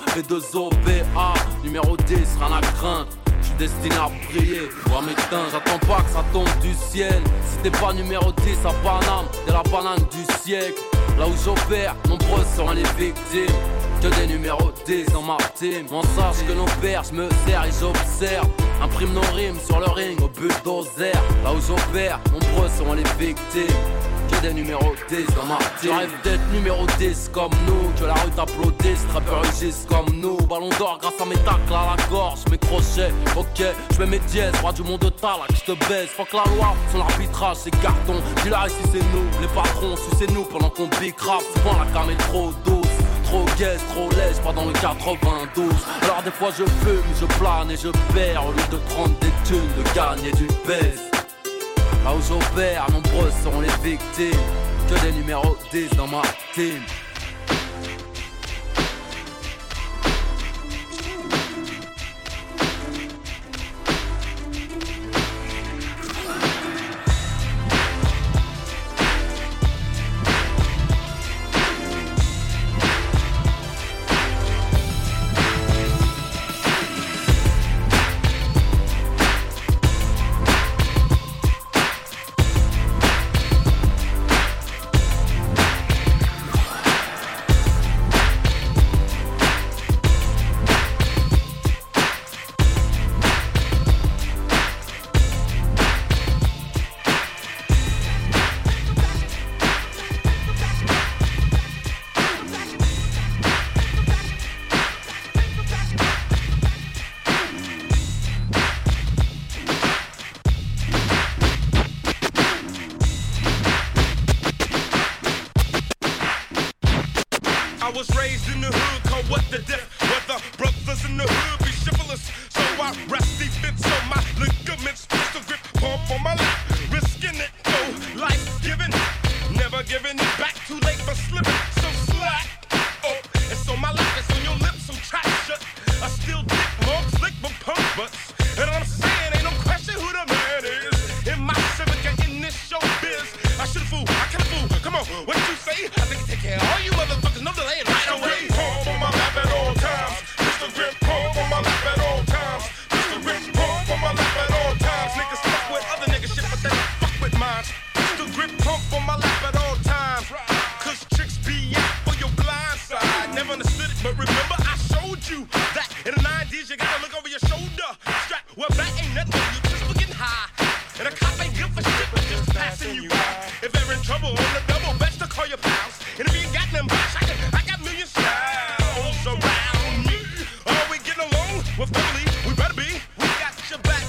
B2OPA, numéro 10, rien à craindre. J'suis destiné à briller, voir mes teints, j'attends pas que ça tombe du ciel. Si t'es pas numéro 10 à Paname, t'es la banane du siècle. Là où j'opère, nombreuses sont les victimes. Que des numéros 10 dans ma team. On sache que nos pères, je me sers et j'observe. Imprime nos rimes sur le ring au bulldozer. Là où j'opère, nombreuses sont les victimes. Que des numéros 10 dans ma team. Je rêve d'être numéro 10 comme nous. Que la rue t'applaudisse, rappeurs rugissent comme nous. Ballon d'or grâce à mes tacles à la gorge, mes crochets. Ok, je mets mes dièses, roi du monde de Talak, je te baise. Fuck la loi, son arbitrage c'est carton. Dis-là ici c'est nous, les patrons, sucez-nous pendant qu'on big rap. Souvent la cam est trop douce. Trop gaze, trop lèche, pas dans le 92. Alors des fois je fume, je plane et je perds. Au lieu de prendre des thunes, de gagner du baise. Là où j'opère, nombreuses seront les victimes. Que des numéros 10 dans ma team. I was raised in the hood, called what the diff. Where the brothers in the hood be chivalrous. So I rest defense on my ligaments. Pistol grip, pump on my lap. Risking it, no life giving. Never giving it back, too late for slipping. So slack, oh, it's on my lap, it's on your lips, so trap shut. I still dick long, slick, but punk butts. And I'm saying, ain't no question who the man is. In my civic and in this showbiz. I should fool, I can fool. Come on, what did you say? I think I take care of all you motherfuckers, no delay, right away. Pump on my lap at all times. Pistol grip, pump on my lap at all times. Pistol grip, pump on my lap at all times. Niggas fuck with other niggas shit, but they don't fuck with mine. Pistol grip, pump on my lap at all times. Cause tricks be out for your blind side. Never understood it, but remember I showed you that in the 90s you gotta look over your shoulder. Strap, well back ain't nothing, you just looking high. And a cop ain't good for shit, but just passing you by. If they're in trouble on the double, best to call your pals. And if you ain't got them box, I got million styles around me. Are we getting along? Well, family, we better be. We got your back,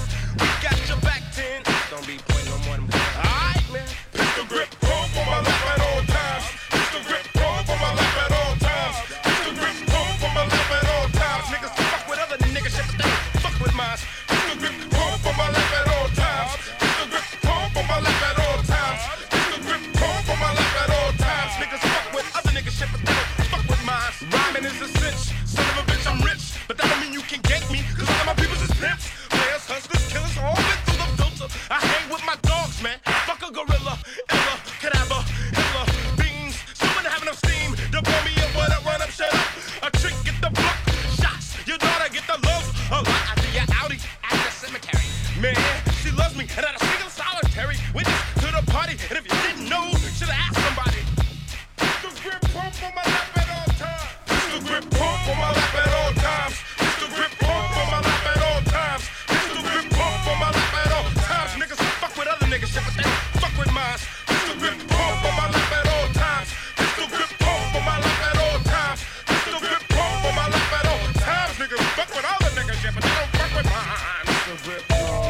10. Don't be pointing no more than alright, man. Pistol grip, pump on my lap at all times. Pistol grip, pump on my lap at all times. Pistol grip, pump on my lap at all times. Niggas fuck with other niggas shit, but they don't fuck with mine. Pistol grip, pump on my lap at all times. Pistol grip, pump on my lap at all times. Pistol grip, pump on my lap at all times. Niggas fuck with other niggas shit, but they don't fuck with mine. Rhyming is a cinch, son of a bitch, I'm rich, but that don't mean you can gank me, cause all of my peoples is pimps. Players, hustlers, killers, all been through the filter. I hang with my dogs, man. Fuck a gorilla, illa, cadaver, Hitler, beans. Someone have enough steam to blow me up, what up, run up, shut up. A trick, get the block, shots. Your daughter get the love, a lot after your Audi at the cemetery. Man, she loves me, and not a single solitary witness to the party. And if you didn't know, should've asked somebody. Pistol grip, pump on my lap at all times. Pistol grip, pump on my lap at all times. Pistol grip, pump on my lap at all times. Pistol grip, pump on my lap at all times. Niggas fuck with other niggas shit, but they don't fuck with mine. Pistol grip, pump on my lap at all times. Pistol grip, pump on my lap at all times. Pistol grip, pump on my lap at all times. Niggas fuck with other niggas shit, but they don't fuck with mine. Pistol grip,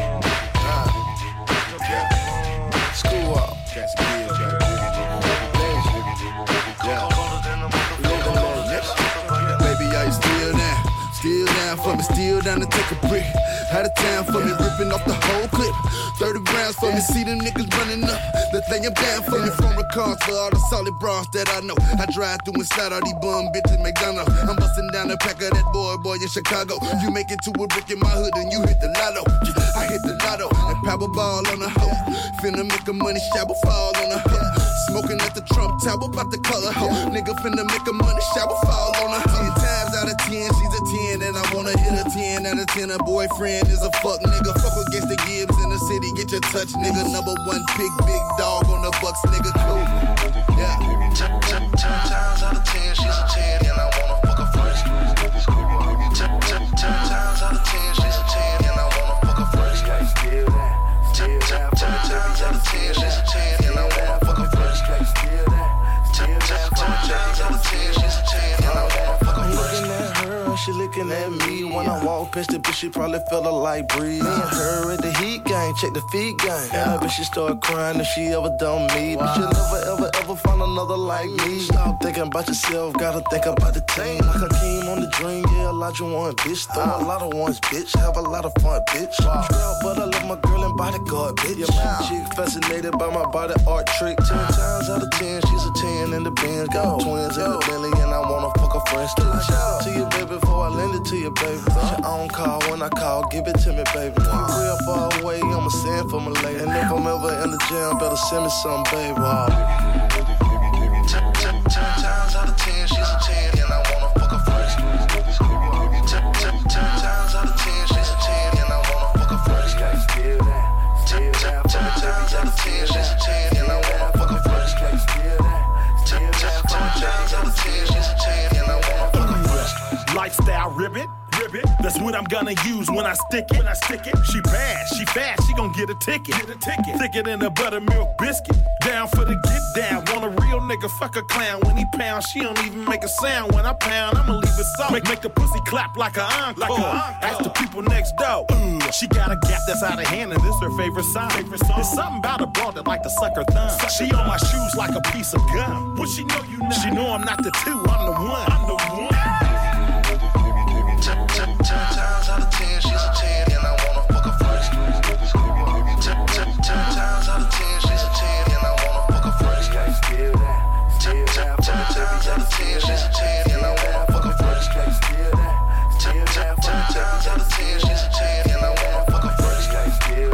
School up. That's good, baby, are you still down? Still down for me, still down to take a break. Out of town for me, ripping off the whole clip. 30 rounds for me, see them niggas running up. The thing I'm down for me, former cars for all the solid bras that I know. I drive through inside all these bum bitches McDonald's. I'm busting down the pack of that boy in Chicago. You make it to a brick in my hood and you hit the lotto. I hit the lotto and Powerball on the hoe. Finna make a money shower fall on the hoe. Smoking at the Trump Tower, about the color hoe. Nigga finna make a money shower fall on her. 10 times out of 10, she's a 10, and I wanna hit a 10 out of 10. Her boyfriend is a fuck nigga. Fuck against the Gibbs in the city, get your touch, nigga. Number one pick, big dog on the Bucks, nigga. Cool. Yeah. 10 times out of 10, she's a 10, and I wanna fuck her first. 10 times out of 10, she's a 10, and I wanna fuck her first. 10 times out of 10, she's a 10, and I wanna fuck her first. 10 times out of 10, she's a 10, and I wanna fuck her first. Looking at her, she looking at me. When I walk past the bitch, she probably felt a light breeze. Me and her at the heat game, check the feet game. Yeah, bitch, she start crying if she ever done me. But you'll never ever find another like me. Stop thinking about yourself, gotta think about the team. Like Hakeem on the dream, yeah, Elijah one, bitch. Throw a lot of ones, bitch. Have a lot of fun, bitch. Trail, but I love my girl and bodyguard, bitch. She fascinated by my body art trick. 10 times out of 10, she's a 10 in the Benz. Got twins in the Bentley, and I wanna fuck her friends. Still shout to you, baby, before I lend it to you, baby. Put your own call when I call, give it to me, baby. Real far away, I'ma send for my lady. And if I'm ever in the jam, better send me some, baby. 10 times out of 10, she's a 10, and I wanna fuck her first. 10 times out of 10, she's a 10, and I wanna fuck her first. 10 times out of 10, she's a 10, and I wanna fuck her first. 10 times out of 10, she's a 10, and I wanna fuck her first. Lifestyle ribbit, That's what I'm gonna use when I stick it. She bad, she fast, she gon' get a ticket. Thicker than a buttermilk biscuit. Down for the get down. Want a real nigga, fuck a clown. When he pound, she don't even make a sound. When I pound, I'ma leave it soft. Make the pussy clap like an encore. Ask the people next door. She got a gap that's out of hand, and this her favorite song. There's something about a broad that like to suck her thumb. She on my shoes like a piece of gum. What she know you not? She know I'm not the two, I'm the one. 10 times out of 10, she's a 10, and I wanna fuck her first. 10 times out of 10, she's a 10, and I wanna fuck her first. 10 times out of 10, she's a 10, and I wanna fuck her first. 10 times out of 10, she's a 10, and I wanna fuck her first. Still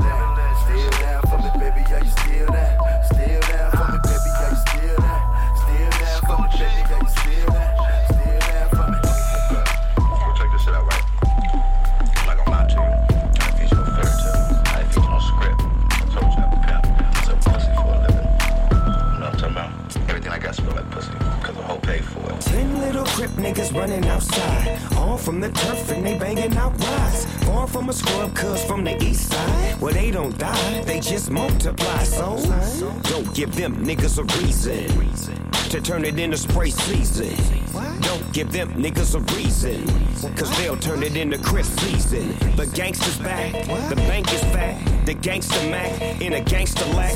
down for me, baby, yeah, you still down. Still down for me, baby, yeah, you still down. Still down for me, baby, yeah, you still down. Still down for me. Check this shit out, right? I'm not gonna lie to you. I feed you a fairy tale. I feed you no script. I told you I'm a pimp. I sell pussy for a living. You know what I'm talking about? Everything I got smell like pussy, cause the whole paid for it. 10 little crip niggas running outside, all from the turf and they banging out rides. Far from a scrub, cuz from the east side, where they don't die, they just multiply. So don't give them niggas a reason to turn it into spray season. Don't give them niggas a reason, cause they'll turn it into crip season. The gangster's back, the bank is fat, the gangster Mac in a gangster lack.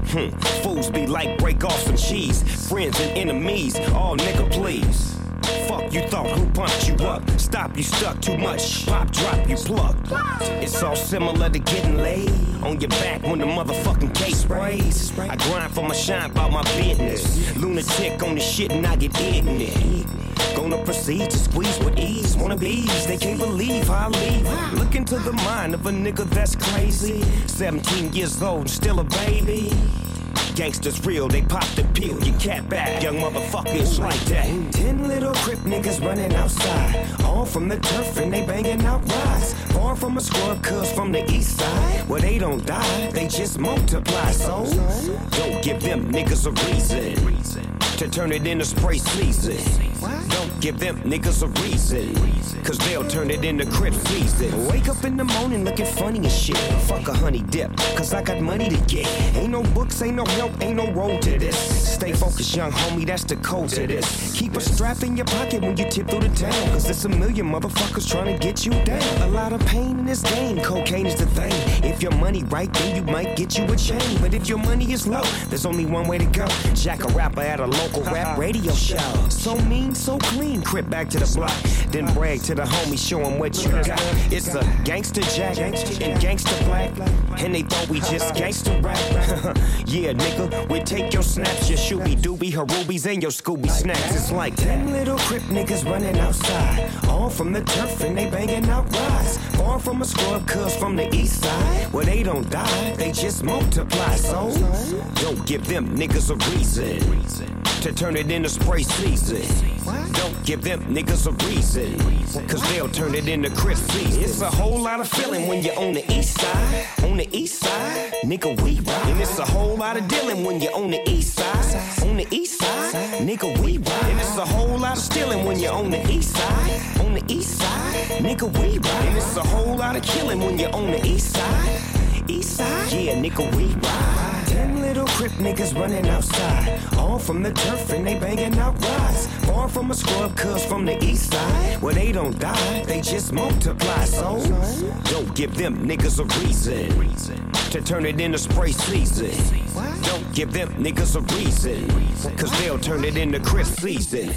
Fools be like break off some cheese, friends and enemies, all nigga please. Fuck you thought, who pumped you up? Stop, you stuck too much. Pop, drop, you plucked. It's all similar to getting laid on your back when the motherfucking case sprays. I grind for my shine about my business. Lunatic on the shit and I get ignorant. Gonna proceed to squeeze with ease. Wanna bees, they can't believe how I leave. Look into the mind of a nigga that's crazy. 17 years old, still a baby. Gangsters real, they pop the pill, you cat back, young motherfuckers like that. 10 little crip niggas running outside, all from the turf and they banging out rides. Far from a scrub, cuz from the east side, where they don't die, they just multiply. So don't give them niggas a reason to turn it into spray season. Don't give them niggas a reason, cause they'll turn it into crip season. Wake up in the morning looking funny as shit. Fuck a honey dip, cause I got money to get. Ain't no books, ain't no help, ain't no road to this. Stay focused, young homie, that's the code to this. Keep a strap in your pocket when you tip through the town, cause there's a million motherfuckers trying to get you down. A lot of pain in this game, cocaine is the thing. If your money right, then you might get you a chain. But if your money is low, there's only one way to go. Jack a rapper at a local rap radio show. So mean, so clean, crip back to the block. Then brag to the homies, show them what you got. It's a gangster jack and gangster black, and they thought we just gangster rap. Yeah, nigga, we take your snaps, your shooby dooby, harubies, and your Scooby snacks. It's like 10 little crip niggas running outside, all from the turf and they banging out rides. Far from a scrub, cuz from the east side, where they don't die, they just multiply. So don't give them niggas a reason to turn it into spray season. Don't give them niggas a reason, cause they'll turn it into crip season. It's a whole lot of feeling when you're on the east side. On the east side, nigga, we ride. And it's a whole lot of dealing when you're on the east side. On the east side, nigga, we ride. And it's a whole lot of stealing when you're on the east side. On the east side, nigga, we ride. And it's a whole lot of killing when you're on the east side. East side, yeah, nigga, we ride. 10 little crip niggas running outside, all from the turf and they banging out rides. Far from a scrub, cuz from the east side, where they don't die, they just multiply. So don't give them niggas a reason to turn it into spray season. Don't give them niggas a reason, cause they'll turn it into crip season.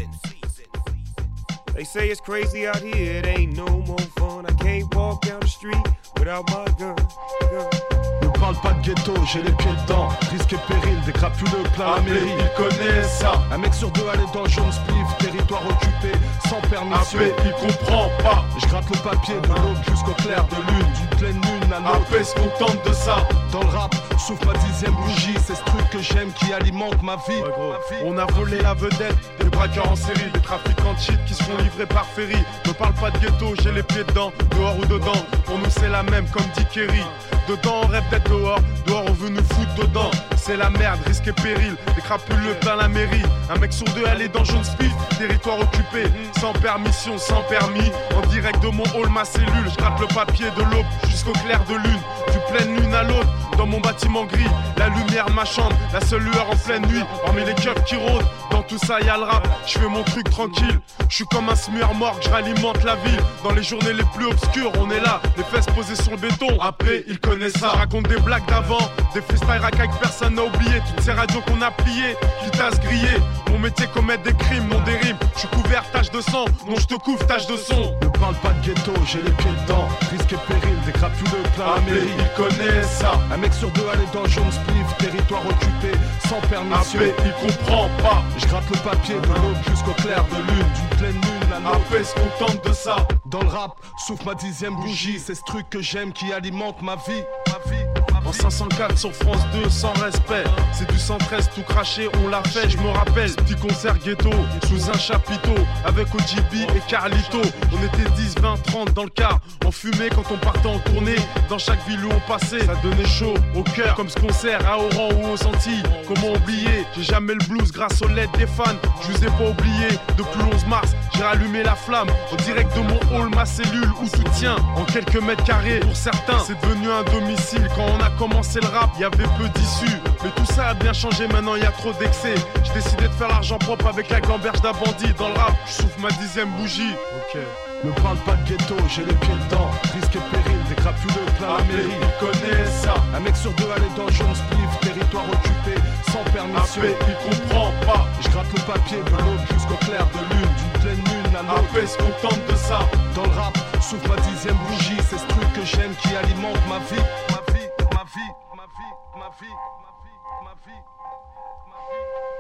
They say it's crazy out here, it ain't no more fun. I can't walk down the street without my gun. Ne parle pas de ghetto, j'ai les pieds dedans. Risque et péril, des crapuleux plein la mairie. Il connaît ça. Un mec sur deux allait dans jaune spliff, territoire occupé, sans permission. AP, il comprend pas. Je gratte le papier de l'aube jusqu'au clair de lune. D'une pleine lune à l'autre. AP se contente de ça. Dans le rap, souffle ma 10e bougie. C'est ce truc que j'aime qui alimente ma vie. On a volé la vedette, des braqueurs en série, des trafiquants de shit qui se font livrer par ferry. Ne parle pas de ghetto, j'ai les pieds dedans, dehors ou dedans. Pour nous c'est la même comme dit Kerry. Dedans on rêve d'être dehors, dehors on veut nous foutre dedans. c'est la merde, risque et péril. Des crapuleux plein la mairie. Un mec sur deux allé dans jaune speed. Territoire occupé, sans permission, sans permis. En direct de mon hall, ma cellule. Je gratte le papier de l'aube jusqu'au clair de lune. Du pleine lune à l'autre, dans mon bâtiment gris. La lumière, ma chambre, la seule lueur en pleine nuit. Parmi les keufs qui rôdent, dans tout ça y'a le rap. Je fais mon truc tranquille. Je suis comme un smueur mort, je ralimente la ville. Dans les journées les plus obscures, on est là, les fesses posées sur le béton. Après, ils connaissent ça. Raconte des blagues d'avant, des freestyles racailles que personne n'a oublié. Toutes ces radios qu'on a pliées, qui tassent grillées. Mon métier, commettre des crimes, non des rimes. Je suis couvert, tache de sang, non je te couvre, tache de son. Ne parle pas de ghetto, j'ai les pieds dedans. Risque et péril, des crapuleux plein la mairie. Ils connaissent ça. Un mec sur deux allé dans jaune spliff, territoire occupé, sans permission. Après, il comprend pas. Je gratte le papier de l'aube jusqu'au clair de lune. D'une pleine lune, la note. Après, se contente de ça. Dans le rap, souffle ma 10e bougie. C'est ce truc que j'aime qui alimente ma vie. En 504 sur France 2 sans respect. C'est du 113 tout craché, on l'a fait, je me rappelle. Petit concert ghetto, sous un chapiteau. Avec OGB et Carlito. On était 10, 20, 30 dans le car. On fumait quand on partait en tournée. Dans chaque ville où on passait, ça donnait chaud au cœur. Comme ce concert à Oran ou aux Antilles. Comment oublier, j'ai jamais le blues grâce aux LED des fans. Je vous ai pas oublié, depuis le 11 mars j'ai rallumé la flamme. En direct de mon hall, ma cellule où tout tient. En quelques mètres carrés, pour certains c'est devenu un domicile. Quand on a commencé le rap, y avait peu d'issues. Mais tout ça a bien changé, maintenant y a trop d'excès. J'ai décidé de faire l'argent propre avec la gamberge d'un bandit. Dans le rap, je souffle ma 10e bougie. Ok. Ne parle pas de ghetto, j'ai les pieds dedans. Risque et péril, des crapuleux plein la mairie. Ils connaissent ça. Un mec sur deux allé dans jaune spliff, territoire occupé, sans permission. Après, il comprend pas. Je gratte le papier de l'aube jusqu'au clair de lune. D'une pleine lune, la note. Après, se contente de ça. Dans le rap, souffle ma 10e bougie. C'est ce truc que j'aime qui alimente ma vie. Ma vie, ma vie, ma vie, ma vie, ma vie, ma vie, ma vie.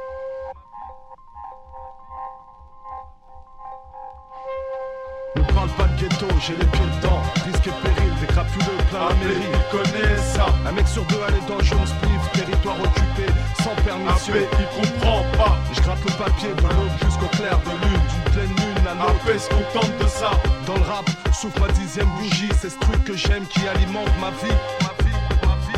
Ne parle pas de ghetto, j'ai les pieds dedans. Risque et péril, des crapuleux plein la mairie. Ils connaissent ça. Un mec sur deux allé dans jaune spliff, territoire occupé, sans permission. Après, il comprend pas. Je gratte le papier de l'aube jusqu'au clair de lune. D'une pleine lune, la note. Après, se contente de ça. Dans le rap, souffle ma 10e bougie. C'est ce truc que j'aime qui alimente ma vie. Ma vie, ma vie.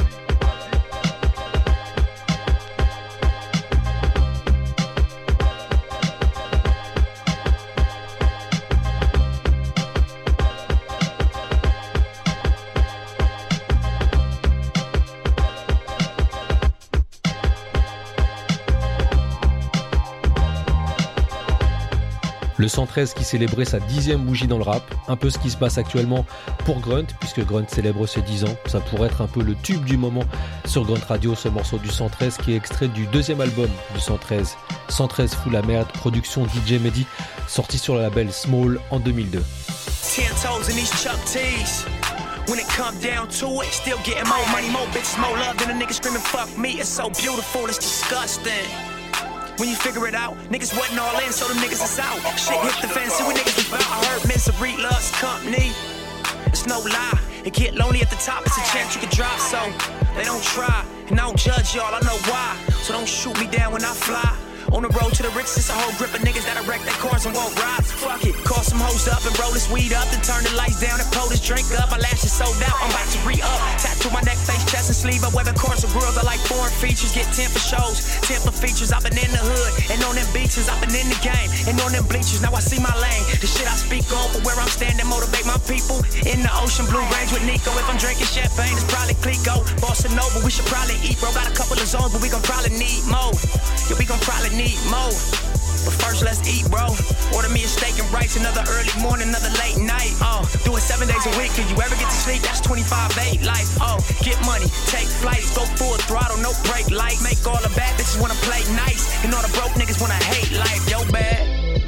Le 113 qui célébrait sa 10e bougie dans le rap, un peu ce qui se passe actuellement pour Grunt, puisque Grunt célèbre ses 10 ans. Ça pourrait être un peu le tube du moment sur Grunt Radio, ce morceau du 113 qui est extrait du deuxième album du 113. 113 fout la merde, production DJ Mehdi, sorti sur le label Small en 2002. 10 toes in these Chuck T's. When it come down to it, still getting more money, more bitches, more love than a nigga screaming fuck me. It's so beautiful, it's disgusting. When you figure it out, niggas wasn't all in, so them niggas is out. Shit hit the fan, see what niggas about. I heard misery loves company. It's no lie, it get lonely at the top, it's a chance you can drop. So they don't try, and I don't judge y'all, I know why. So don't shoot me down when I fly. On the road to the riches, it's a whole grip of niggas that'll wreck their cars and won't ride. Fuck it, call some hoes up and roll this weed up, then turn the lights down and pull this drink up. My lashes sold out, I'm about to re-up. Tattoo my neck, face, chest, and sleeve up. Whether cars or grills, I like foreign features. Get 10 for shows, 10 for features. I've been in the hood, and on them beaches, I've been in the game, and on them bleachers. Now I see my lane. The shit I speak on for where I'm standing, motivate my people. In the ocean, blue range with Nico. If I'm drinking champagne, it's probably Clico. Bossa Nova, we should probably eat, bro. Got a couple of zones, but we gon' probably need more. Yeah, we gon' probably need more. But first let's eat, bro. Order me a steak and rice, another early morning, another late night. Do it 7 days a week. Can you ever get to sleep? That's 25/8 life. Get money, take flights, go full throttle, no brake light. Make all the bad bitches wanna play nice, and all the broke niggas wanna hate life. Yo, bad.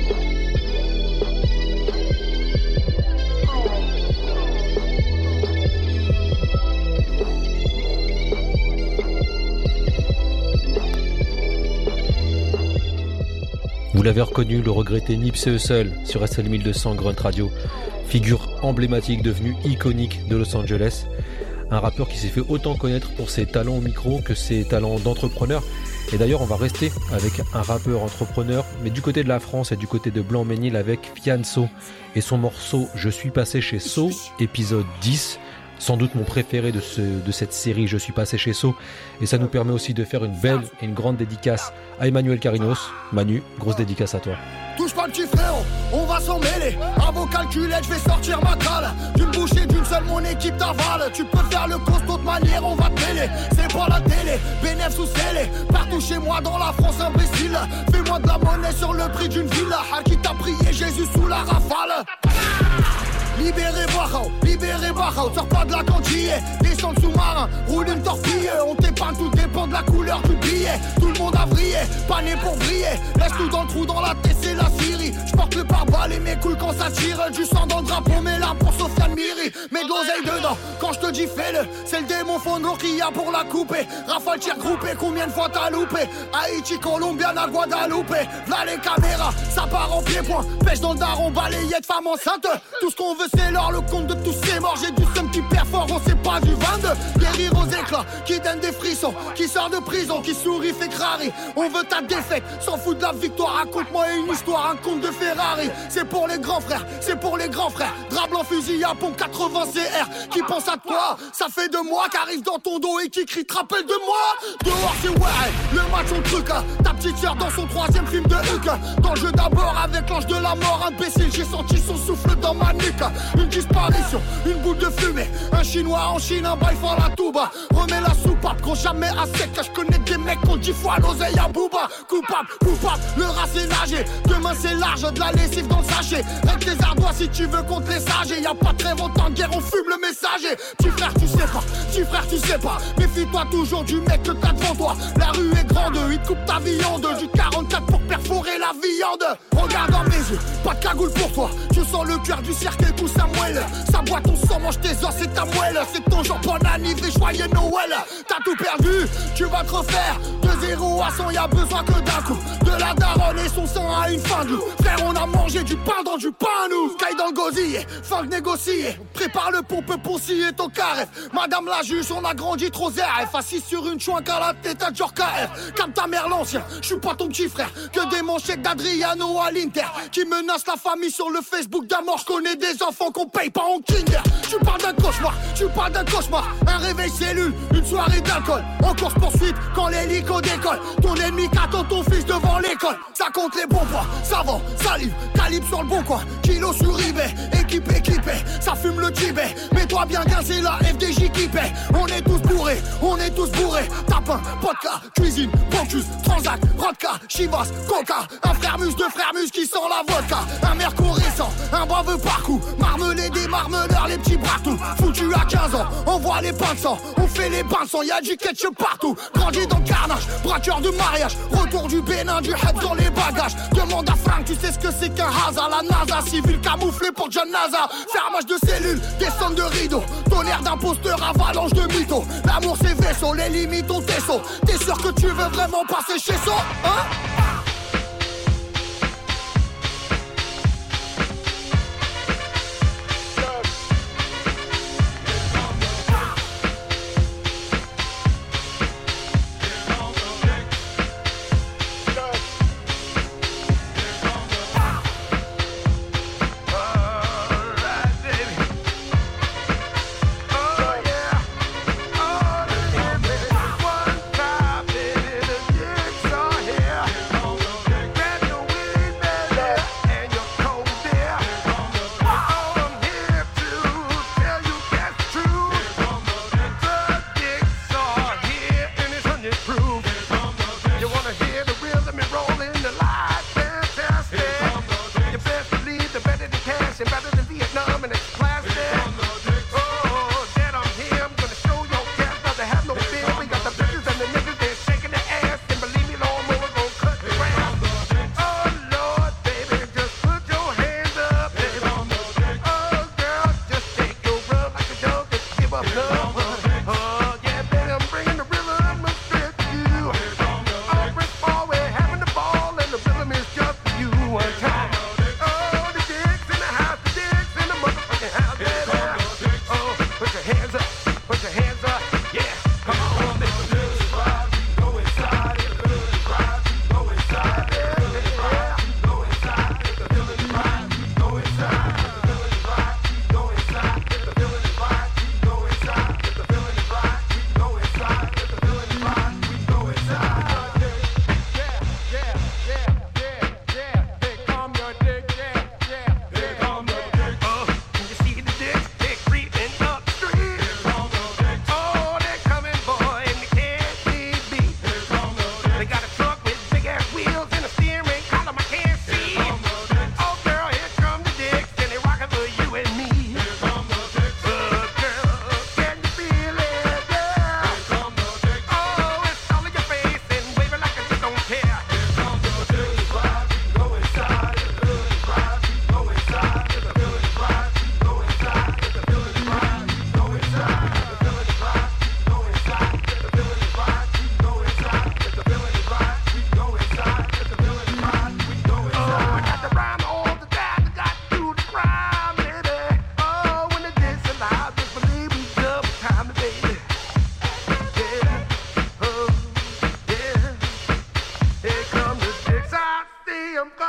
Vous l'avez reconnu, le regretté Nipsey Hussle sur SL 1200 Grunt Radio, figure emblématique devenue iconique de Los Angeles. Un rappeur qui s'est fait autant connaître pour ses talents au micro que ses talents d'entrepreneur. Et d'ailleurs, on va rester avec un rappeur entrepreneur, mais du côté de la France et du côté de Blanc-Ménil avec Fianso et son morceau « Je suis passé chez So », épisode 10. Sans doute mon préféré de cette série Je suis passé chez So. Et ça nous permet aussi de faire une belle et une grande dédicace à Emmanuel Carinos. Manu, grosse dédicace à toi. Touche pas le petit frérot, on va s'en mêler. À vos calculettes, je vais sortir ma cale. D'une bouchée, d'une seule, mon équipe t'avale. Tu peux faire le costaud de manière, on va te mêler. C'est pas la télé, bénéf sous scellé. Partout chez moi dans la France, imbécile. Fais-moi de la monnaie sur le prix d'une villa. Qui t'a prié Jésus sous la rafale. Libérez Barao, sors pas de la cantille. Descends le sous-marin, roule une torpille. On t'épargne, tout dépend de la couleur du billet. Tout le monde a vrillé, pas né pour briller. Laisse tout dans le trou, dans la tête, c'est la Syrie. J'porte le pare-balles et mes couilles quand ça tire. Du sang dans le drapeau, mais là pour Sofiane Miri. Mets de l'oseille dedans, quand je te dis fais-le. C'est le démon Fondo qui a pour la couper. Rafale tir groupé, combien de fois t'as loupé? Haïti, Colombiana, Guadeloupe. V'là les caméras, ça part en pied-point. Pêche dans le daron, balayette, femme enceinte. Tout ce qu'on veut c'est l'or, le compte de tous ces morts. J'ai du seum qui perd fort, on sait pas du 22. Guérir aux éclats, qui donne des frissons. Qui sort de prison, qui sourit, fait crari. On veut ta défaite, s'en fout de la victoire. Raconte-moi une histoire, un conte de Ferrari. C'est pour les grands frères, c'est pour les grands frères. Drap blanc, fusil à pompe 80 CR. Qui pense à toi, ça fait 2 mois qu'arrive dans ton dos et qui crie te rappelle de moi. Dehors c'est ouais, le match on truc. Ta petite sœur dans son 3e film de Huck. Dans le jeu d'abord avec l'ange de la mort. Imbécile, j'ai senti son souffle dans ma nuque. Une disparition, une boule de fumée. Un chinois en Chine, un bail fort la touba. Remets la soupape, quand jamais à sec. Je connais des mecs qu'on 10 fois l'oseille à Booba. Coupable, le rat c'est nager. Demain c'est large, de la lessive dans le sachet. Règle tes ardois si tu veux contre les sages. Y'a pas très longtemps de guerre, on fume le messager. Petit frère tu sais pas. Méfie-toi toujours du mec que t'as devant toi. La rue est grande, il te coupe ta viande. Du 44 pour perforer la viande. Regarde dans mes yeux, pas de cagoule pour toi. Tu sens le cœur du cercle pousse à moelle. Ça boit ton sang, mange tes os, c'est ta moelle. C'est ton genre bon anniversaire, joyeux Noël. T'as tout perdu, tu vas te refaire. De 0 à 100, y'a besoin que d'un coup. De la daronne et son sang à une fin de loup. Frère, on a mangé du pain dans du pain, nous. Caille dans le gosier, fin de négocier. Prépare le pompe ponciller ton carré. Madame la juge, on a grandi trop ZRF. Assis sur une chouinque à la tête à Djorka F. Comme ta mère l'ancien, j'suis pas ton petit frère. Que des manchettes d'Adriano à l'Inter. Qui menacent la famille sur le Facebook d'un mort. J'connais des enfants qu'on paye pas en Kinder. Tu parles d'un cauchemar, un réveil cellule, une soirée d'alcool. En course poursuite quand l'hélico décolle. Ton ennemi qu'attend ton fils devant l'école. Ça compte les bons points, savant, salive, calibre sur le bon coin. Kilo sur eBay, équipé, ça fume le Tibet. Mets-toi bien c'est la FDJ qui paie. On est tous bourrés. Tapin, vodka, cuisine, Bocuse, Transac, Rodka, Chivas, Coca. Un frère mus, 2 frères mus qui sent la vodka. Un mercure récent, un baveux parcours. Marmelé des marmeleurs, les petits bratous. Foutu à 15 ans, on voit les pains de sang. On fait les bains de sang, y'a du ketchup partout. Grandi dans le carnage, braqueur de mariage. Retour du Bénin, du head dans les bagages. Demande à Frank, tu sais ce que c'est qu'un hasard. La NASA, civil camouflé pour John NASA. Fermage de cellules, descente de rideaux. Tonnerre d'imposteur, avalanche de mythos. L'amour c'est vaisseau, les limites ont tes sauts. T'es sûr que tu veux vraiment passer chez ça, hein?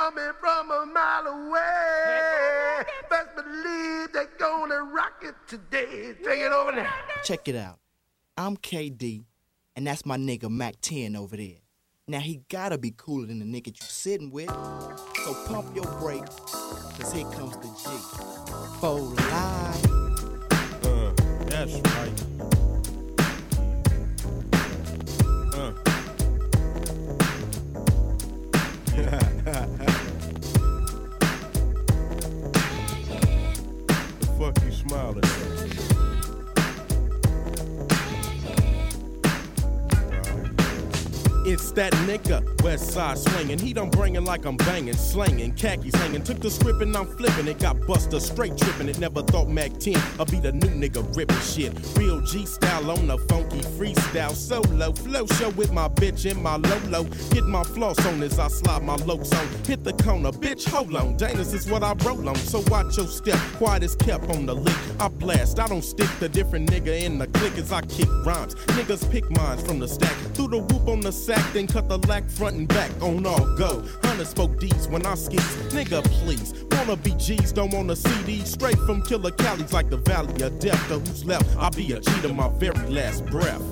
coming from a mile away. Best believe they're gonna rock it today. Take it over there. Check it out. I'm KD, and that's my nigga Mac 10 over there. Now he gotta be cooler than the nigga you sitting with. So pump your brakes, cause here comes the G. For life. That's right. The fuck you smiling at? It's that nigga, West Side swinging. He done bringing like I'm banging, slanging, khakis hanging. Took the script and I'm flipping it. Got Buster straight tripping it. Never thought Mac 10 I'll be the new nigga ripping shit. Real G style on the funky freestyle solo. Flow show with my bitch in my Lolo. Hit my floss on as I slide my lokes on. Hit the corner, bitch, hold on. Dangerous is what I roll on. So watch your step, quiet as kept on the lick. I blast, I don't stick the different nigga in the click as I kick rhymes. Niggas pick mines from the stack. Through the whoop on the sack, then cut the lack front and back on all go. 100 spoke D's when I skis. Nigga, please. Wanna be G's, don't wanna see these. Straight from Killer Cali's like the Valley of Death. To who's left, I'll be a G to my very last breath.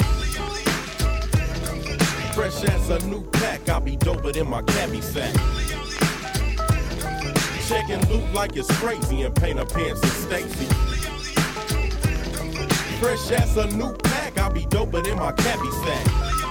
Fresh as a new pack, I'll be doper than my cabbie sack. Checking loot like it's crazy and paint her pants and Stacy. Fresh as a new pack, I'll be doper than my cabbie sack.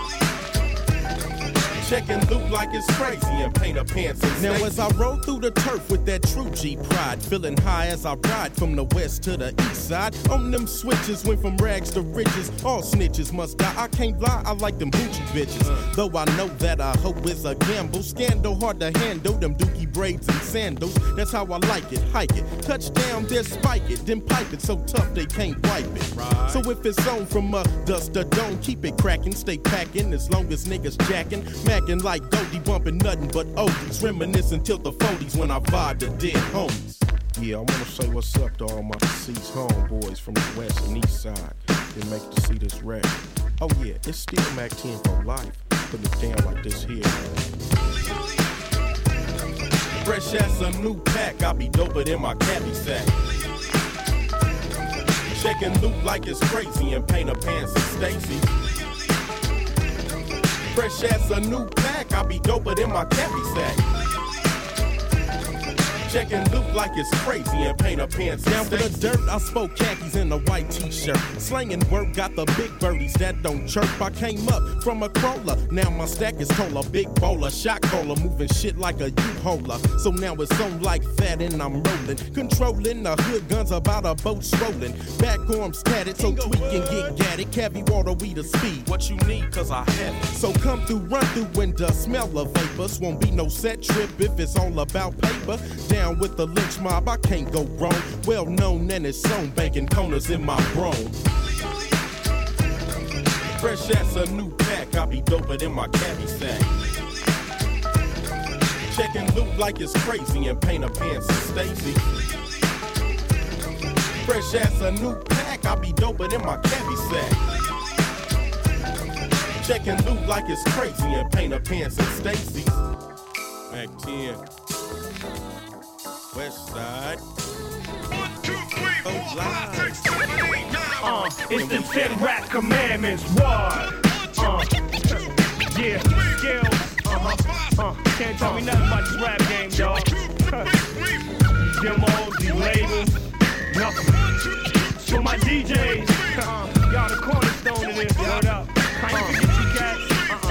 Checking loot like it's crazy and paint her pants and Now as I roll through the turf with that true G pride, feeling high as I ride from the west to the east side. On them switches, went from rags to riches. All snitches must die. I can't lie, I like them Gucci bitches. Though I know that I hope is a gamble. Scandal hard to handle, them dookie braids and sandals. That's how I like it, hike it. Touchdown, then spike it, then pipe it so tough they can't wipe it. Right. So if it's on from dust to dome, keep it cracking, stay packing as long as niggas jacking. Like Goldie bumping nothing but oldies. Reminiscing till the 40s when I vibe the dead homies. Yeah, I wanna say what's up to all my deceased homeboys from the west and east side. They make to see this rap. Oh yeah, it's still Mac 10 for life. Put it down like this here. Fresh as a new pack, I'll be doper than my cabbie sack. Checking loot like it's crazy and paint her pants and Stacy. Fresh as a new pack, I'll be doper than my cabbie sack. Checking loot like it's crazy and paint her pants down for the dirt. I spoke khakis in a white t-shirt. Slanging work, got the big birdies that don't chirp. I came up from a crawler, now my stack is taller. Big bowler, shot caller, moving shit like a U-holer. So now it's on like that and I'm rolling. Controlling the hood guns about a boat strolling. Back arms tatted, so tweak and get gatted. Cavi water, we the speed. What you need, cause I have it. So come through, run through window, smell of vapors. Won't be no set trip if it's all about paper. Down with the lynch mob, I can't go wrong. Well known and it's on, banking corners in my brome. Fresh as a new pack, I'll be doper than my cabbie sack. Checking loot like it's crazy and paint her pants and Stacy. Fresh as a new pack, I'll be doper than my cabbie sack. Checking loot like it's crazy and paint her pants and Stacy. Mac 10. West Side. 1, 2, 3, 4, 5, 6, 7, 8, 9. It's the 10 rap commandments. What? Yeah, skills. Can't tell me nothing about this rap game, dog. Demos, these labels, nothing. So my DJs, y'all the cornerstone of this. Word up. How you forget you cats?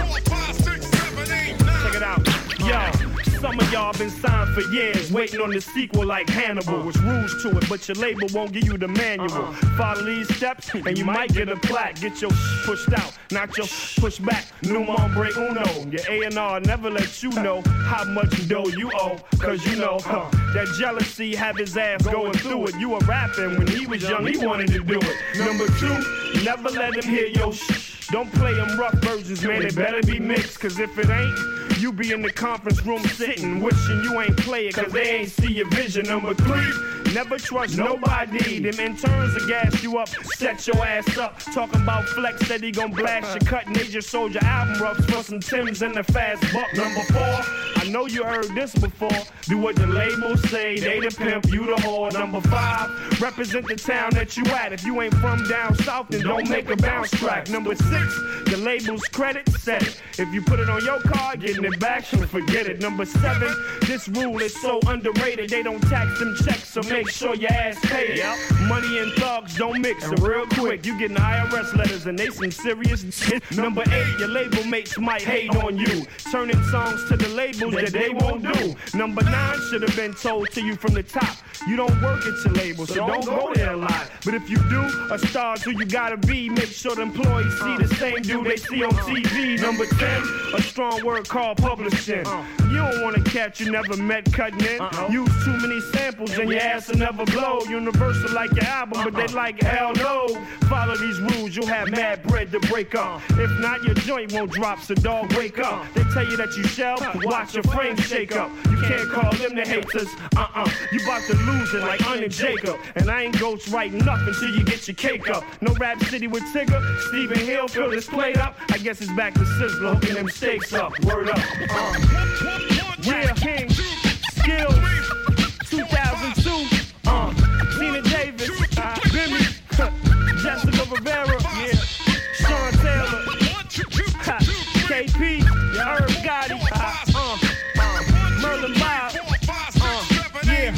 Check it out. Yo. Some of y'all been signed for years, waiting on the sequel like Hannibal. It's rules to it, but your label won't give you the manual. Follow these steps, and you might get a plaque. Get your pushed out, not your push back. No nombre uno. Your A&R never let you know how much dough you owe. Cause you know, that jealousy have his ass going through it. You were rapping when he was young, he wanted to do it. Number 2, never let him hear your shh. Don't play them rough versions, man, they better be mixed. Cause if it ain't, you be in the conference room sitting, wishing you ain't play it, cause they ain't see your vision. Number 3, Never trust nobody. Them interns will gas you up, set your ass up. Talking about flex, said he gon' blast your cut. Major Soldier album roughs for some Timbs and the fast buck. Number 4, I know you heard this before. Do what the labels say, they the pimp, you the whore. Number 5, represent the town that you at. If you ain't from down south, then don't make a bounce track. Number 6, the label's credit set it. If you put it on your card, getting it back, so forget it. Number 7, this rule is so underrated. They don't tax them checks, so make sure your ass paid. Money and thugs don't mix, so real quick, you getting IRS letters and they some serious shit. Number 8, your label mates might hate on you, turning songs to the labels that they won't do. Number 9 should have been told to you from the top. You don't work at your label, so don't go there a lot. But if you do, a star's who you gotta be. Make sure the employees see the same dude they see on TV. Number 10, a strong word called publishing. You don't wanna catch you never met cutting in. Use too many samples and your ass will never blow. Universal like your album, but they like hell no. Follow these rules, you'll have mad bread to break up. If not, your joint won't drop, so dog wake up. They tell you that you shall, watch your frame shake up. You can't call them the haters, You about to lose it like Un and Jacob. And I ain't ghost writing nothing till you get your cake up. No Rap City with Tigger, Stephen Hill fill this plate up. I guess it's back to Sizzler hooking them steaks up. Word up. Yeah, King, Skills, 2002. Tina Davis, Bimmy, Jessica Rivera, yeah, Sean Taylor, KP, Herb Gotti, Merlin Bob, yeah.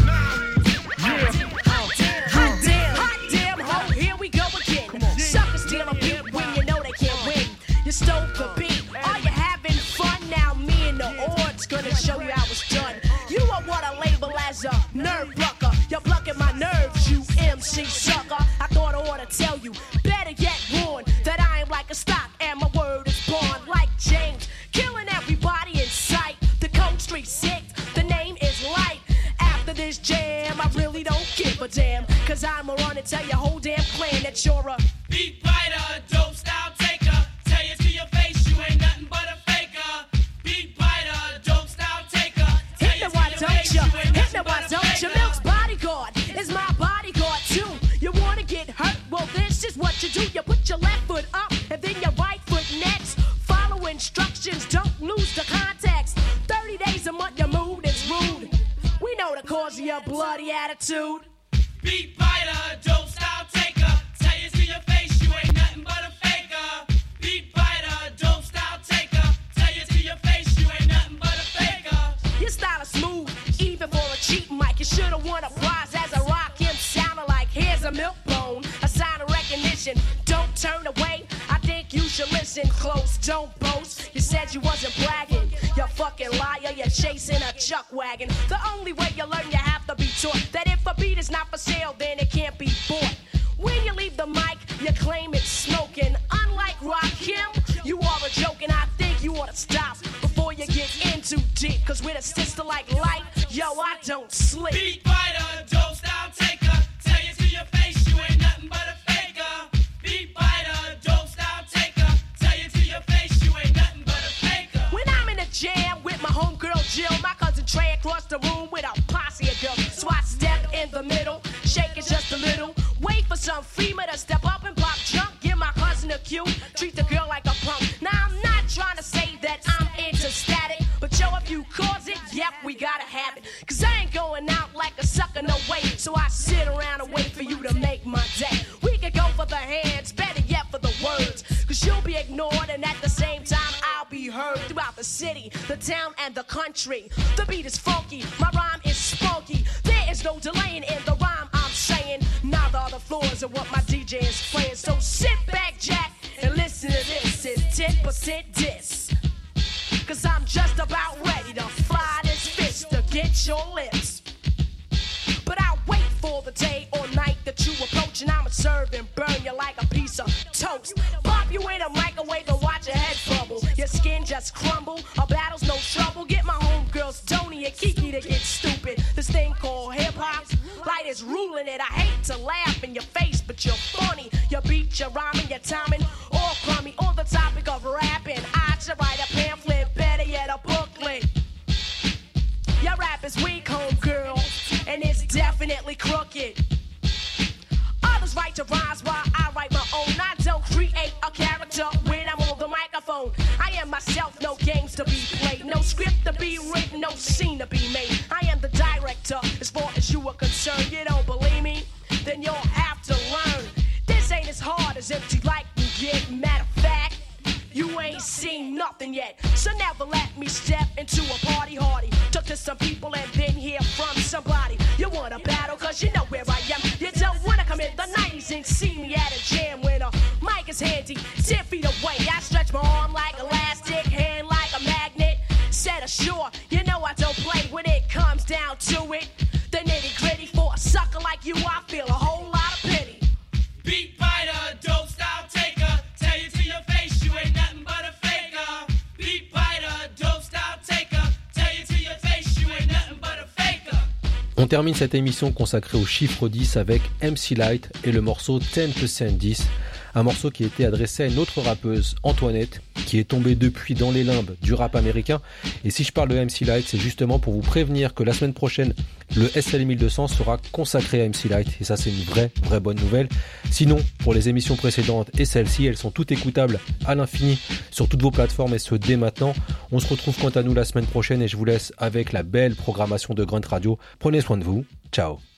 Hot damn, ho, here we go again. Suckers steal a beat when you know they can't win. You stole the beat, are you having fun? Now me and the odds gonna show you how it's done. You are what I label as a nerve plucker. You're plucking my nerves, you MC sucker. I thought I ought to tell you, better yet warn, that I am like a stock and my word is born like James, killing everybody in sight. The Cold Street 6, the name is Light. After this jam, I really don't give a damn, cause I'ma run and tell your whole damn clan that you're a beat biter, dope style taker. Tell you to your face, you ain't nothing but a faker. Beat biter, dope style taker. Hit me why don't you? Hit me why don't you? Milk's bodyguard is my bodyguard too. You wanna get hurt? Well, this is what you do. You put your left foot up and then your right foot next. Follow instructions, don't lose the context. 30 days a month, your mood is rude. We know the cause of your bloody attitude. Beat biter, dope style taker. Tell you to your face, you ain't nothing but a faker. Beat biter, dope style taker. Tell you to your face, you ain't nothing but a faker. Your style is smooth, even for a cheap mic. You should've won a prize as a rock him sounding like here's a milk bone, a sign of recognition. Don't turn away, I think you should listen close. Don't boast, you said you wasn't bragging. You fucking liar, you're chasing a chuck wagon. The only way you learn, you have to be taught that if a beat is not for sale, then it can't be bought. When you leave the mic, you claim it's smoking. Unlike Rakim, you are a joke, and I think you ought to stop before you get in too deep. Cause with a sister like Light, yo, I don't sleep. Beat biter, dope style taker. Tell you to your face, you ain't nothing but a faker. Beat biter, dope style taker. Tell you to your face, you ain't nothing but a faker. When I'm in a jam with my homegirl Jill, my cousin Trey across the room with a posse of girls. So I step in the middle, shake it just a little. Wait for some female to step up and pop junk. Give my cousin a cue, treat the girl like a punk. Now I'm not trying to say that I'm into static, but yo, if you cause it, yep, we gotta have it. Cause I ain't going out like a sucker, no way. So I sit around and wait for you to make my day. We can go for the hands, better yet for the words. Cause you'll be ignored and at the same time I'll be heard throughout the city, the town, and the country. The beat is funky, my rhyme is spunky. There is no delaying in the rhyme I'm saying. Neither are the floors of what my DJ is playing. So sit back, Jack, and listen to this. It's 10% diss. Cause I'm just about ready to fly this fist to get your lips. But I'll wait for the day or night that you approach, and I'ma serve and burn you like a piece of toast. Pop you in a microwave and watch your head bubble. Your skin just crumble, a battle's no trouble. Get my homegirls Tony and Kiki to get stupid. This thing called hip-hop, Light is ruling it. I hate to laugh in your face, but you're funny. Your beat, your rhyming, your timing, all crummy. On the topic of rapping, I should write a pamphlet, better yet a booklet. Your rap is weak, homegirl, and it's definitely crooked. games to be played, no script to be written, no scene to be made. I am the director, as far as you are concerned. You don't believe me? Then you'll have to learn. This ain't as hard as empty like you get. Matter of fact, you ain't seen nothing yet. So never let me step into a party hardy. Talk to some people and then hear from somebody. You wanna battle cause you know where I am. You don't wanna come in the 90s and see me at a jam when a mic is handy 10 feet away. I stretch my arm like elastic, hand like a magnet. Set ashore, you know I don't play when it comes down to it. The nitty gritty for a sucker like you, I feel a whole lot of pity. Beat biter, dope style taker. Tell you to your face, you ain't nothing but a faker. Beat biter, dope style taker. Tell you to your face, you ain't nothing but a faker. On termine cette émission consacrée au chiffre 10 avec MC Lyte et le morceau 10% 10. Un morceau qui était adressé à une autre rappeuse, Antoinette, qui est tombée depuis dans les limbes du rap américain. Et si je parle de MC Lyte, c'est justement pour vous prévenir que la semaine prochaine, le SL 1200 sera consacré à MC Lyte. Et ça, c'est une vraie bonne nouvelle. Sinon, pour les émissions précédentes et celles-ci, elles sont toutes écoutables à l'infini sur toutes vos plateformes et ce dès maintenant. On se retrouve quant à nous la semaine prochaine et je vous laisse avec la belle programmation de Grunt Radio. Prenez soin de vous. Ciao.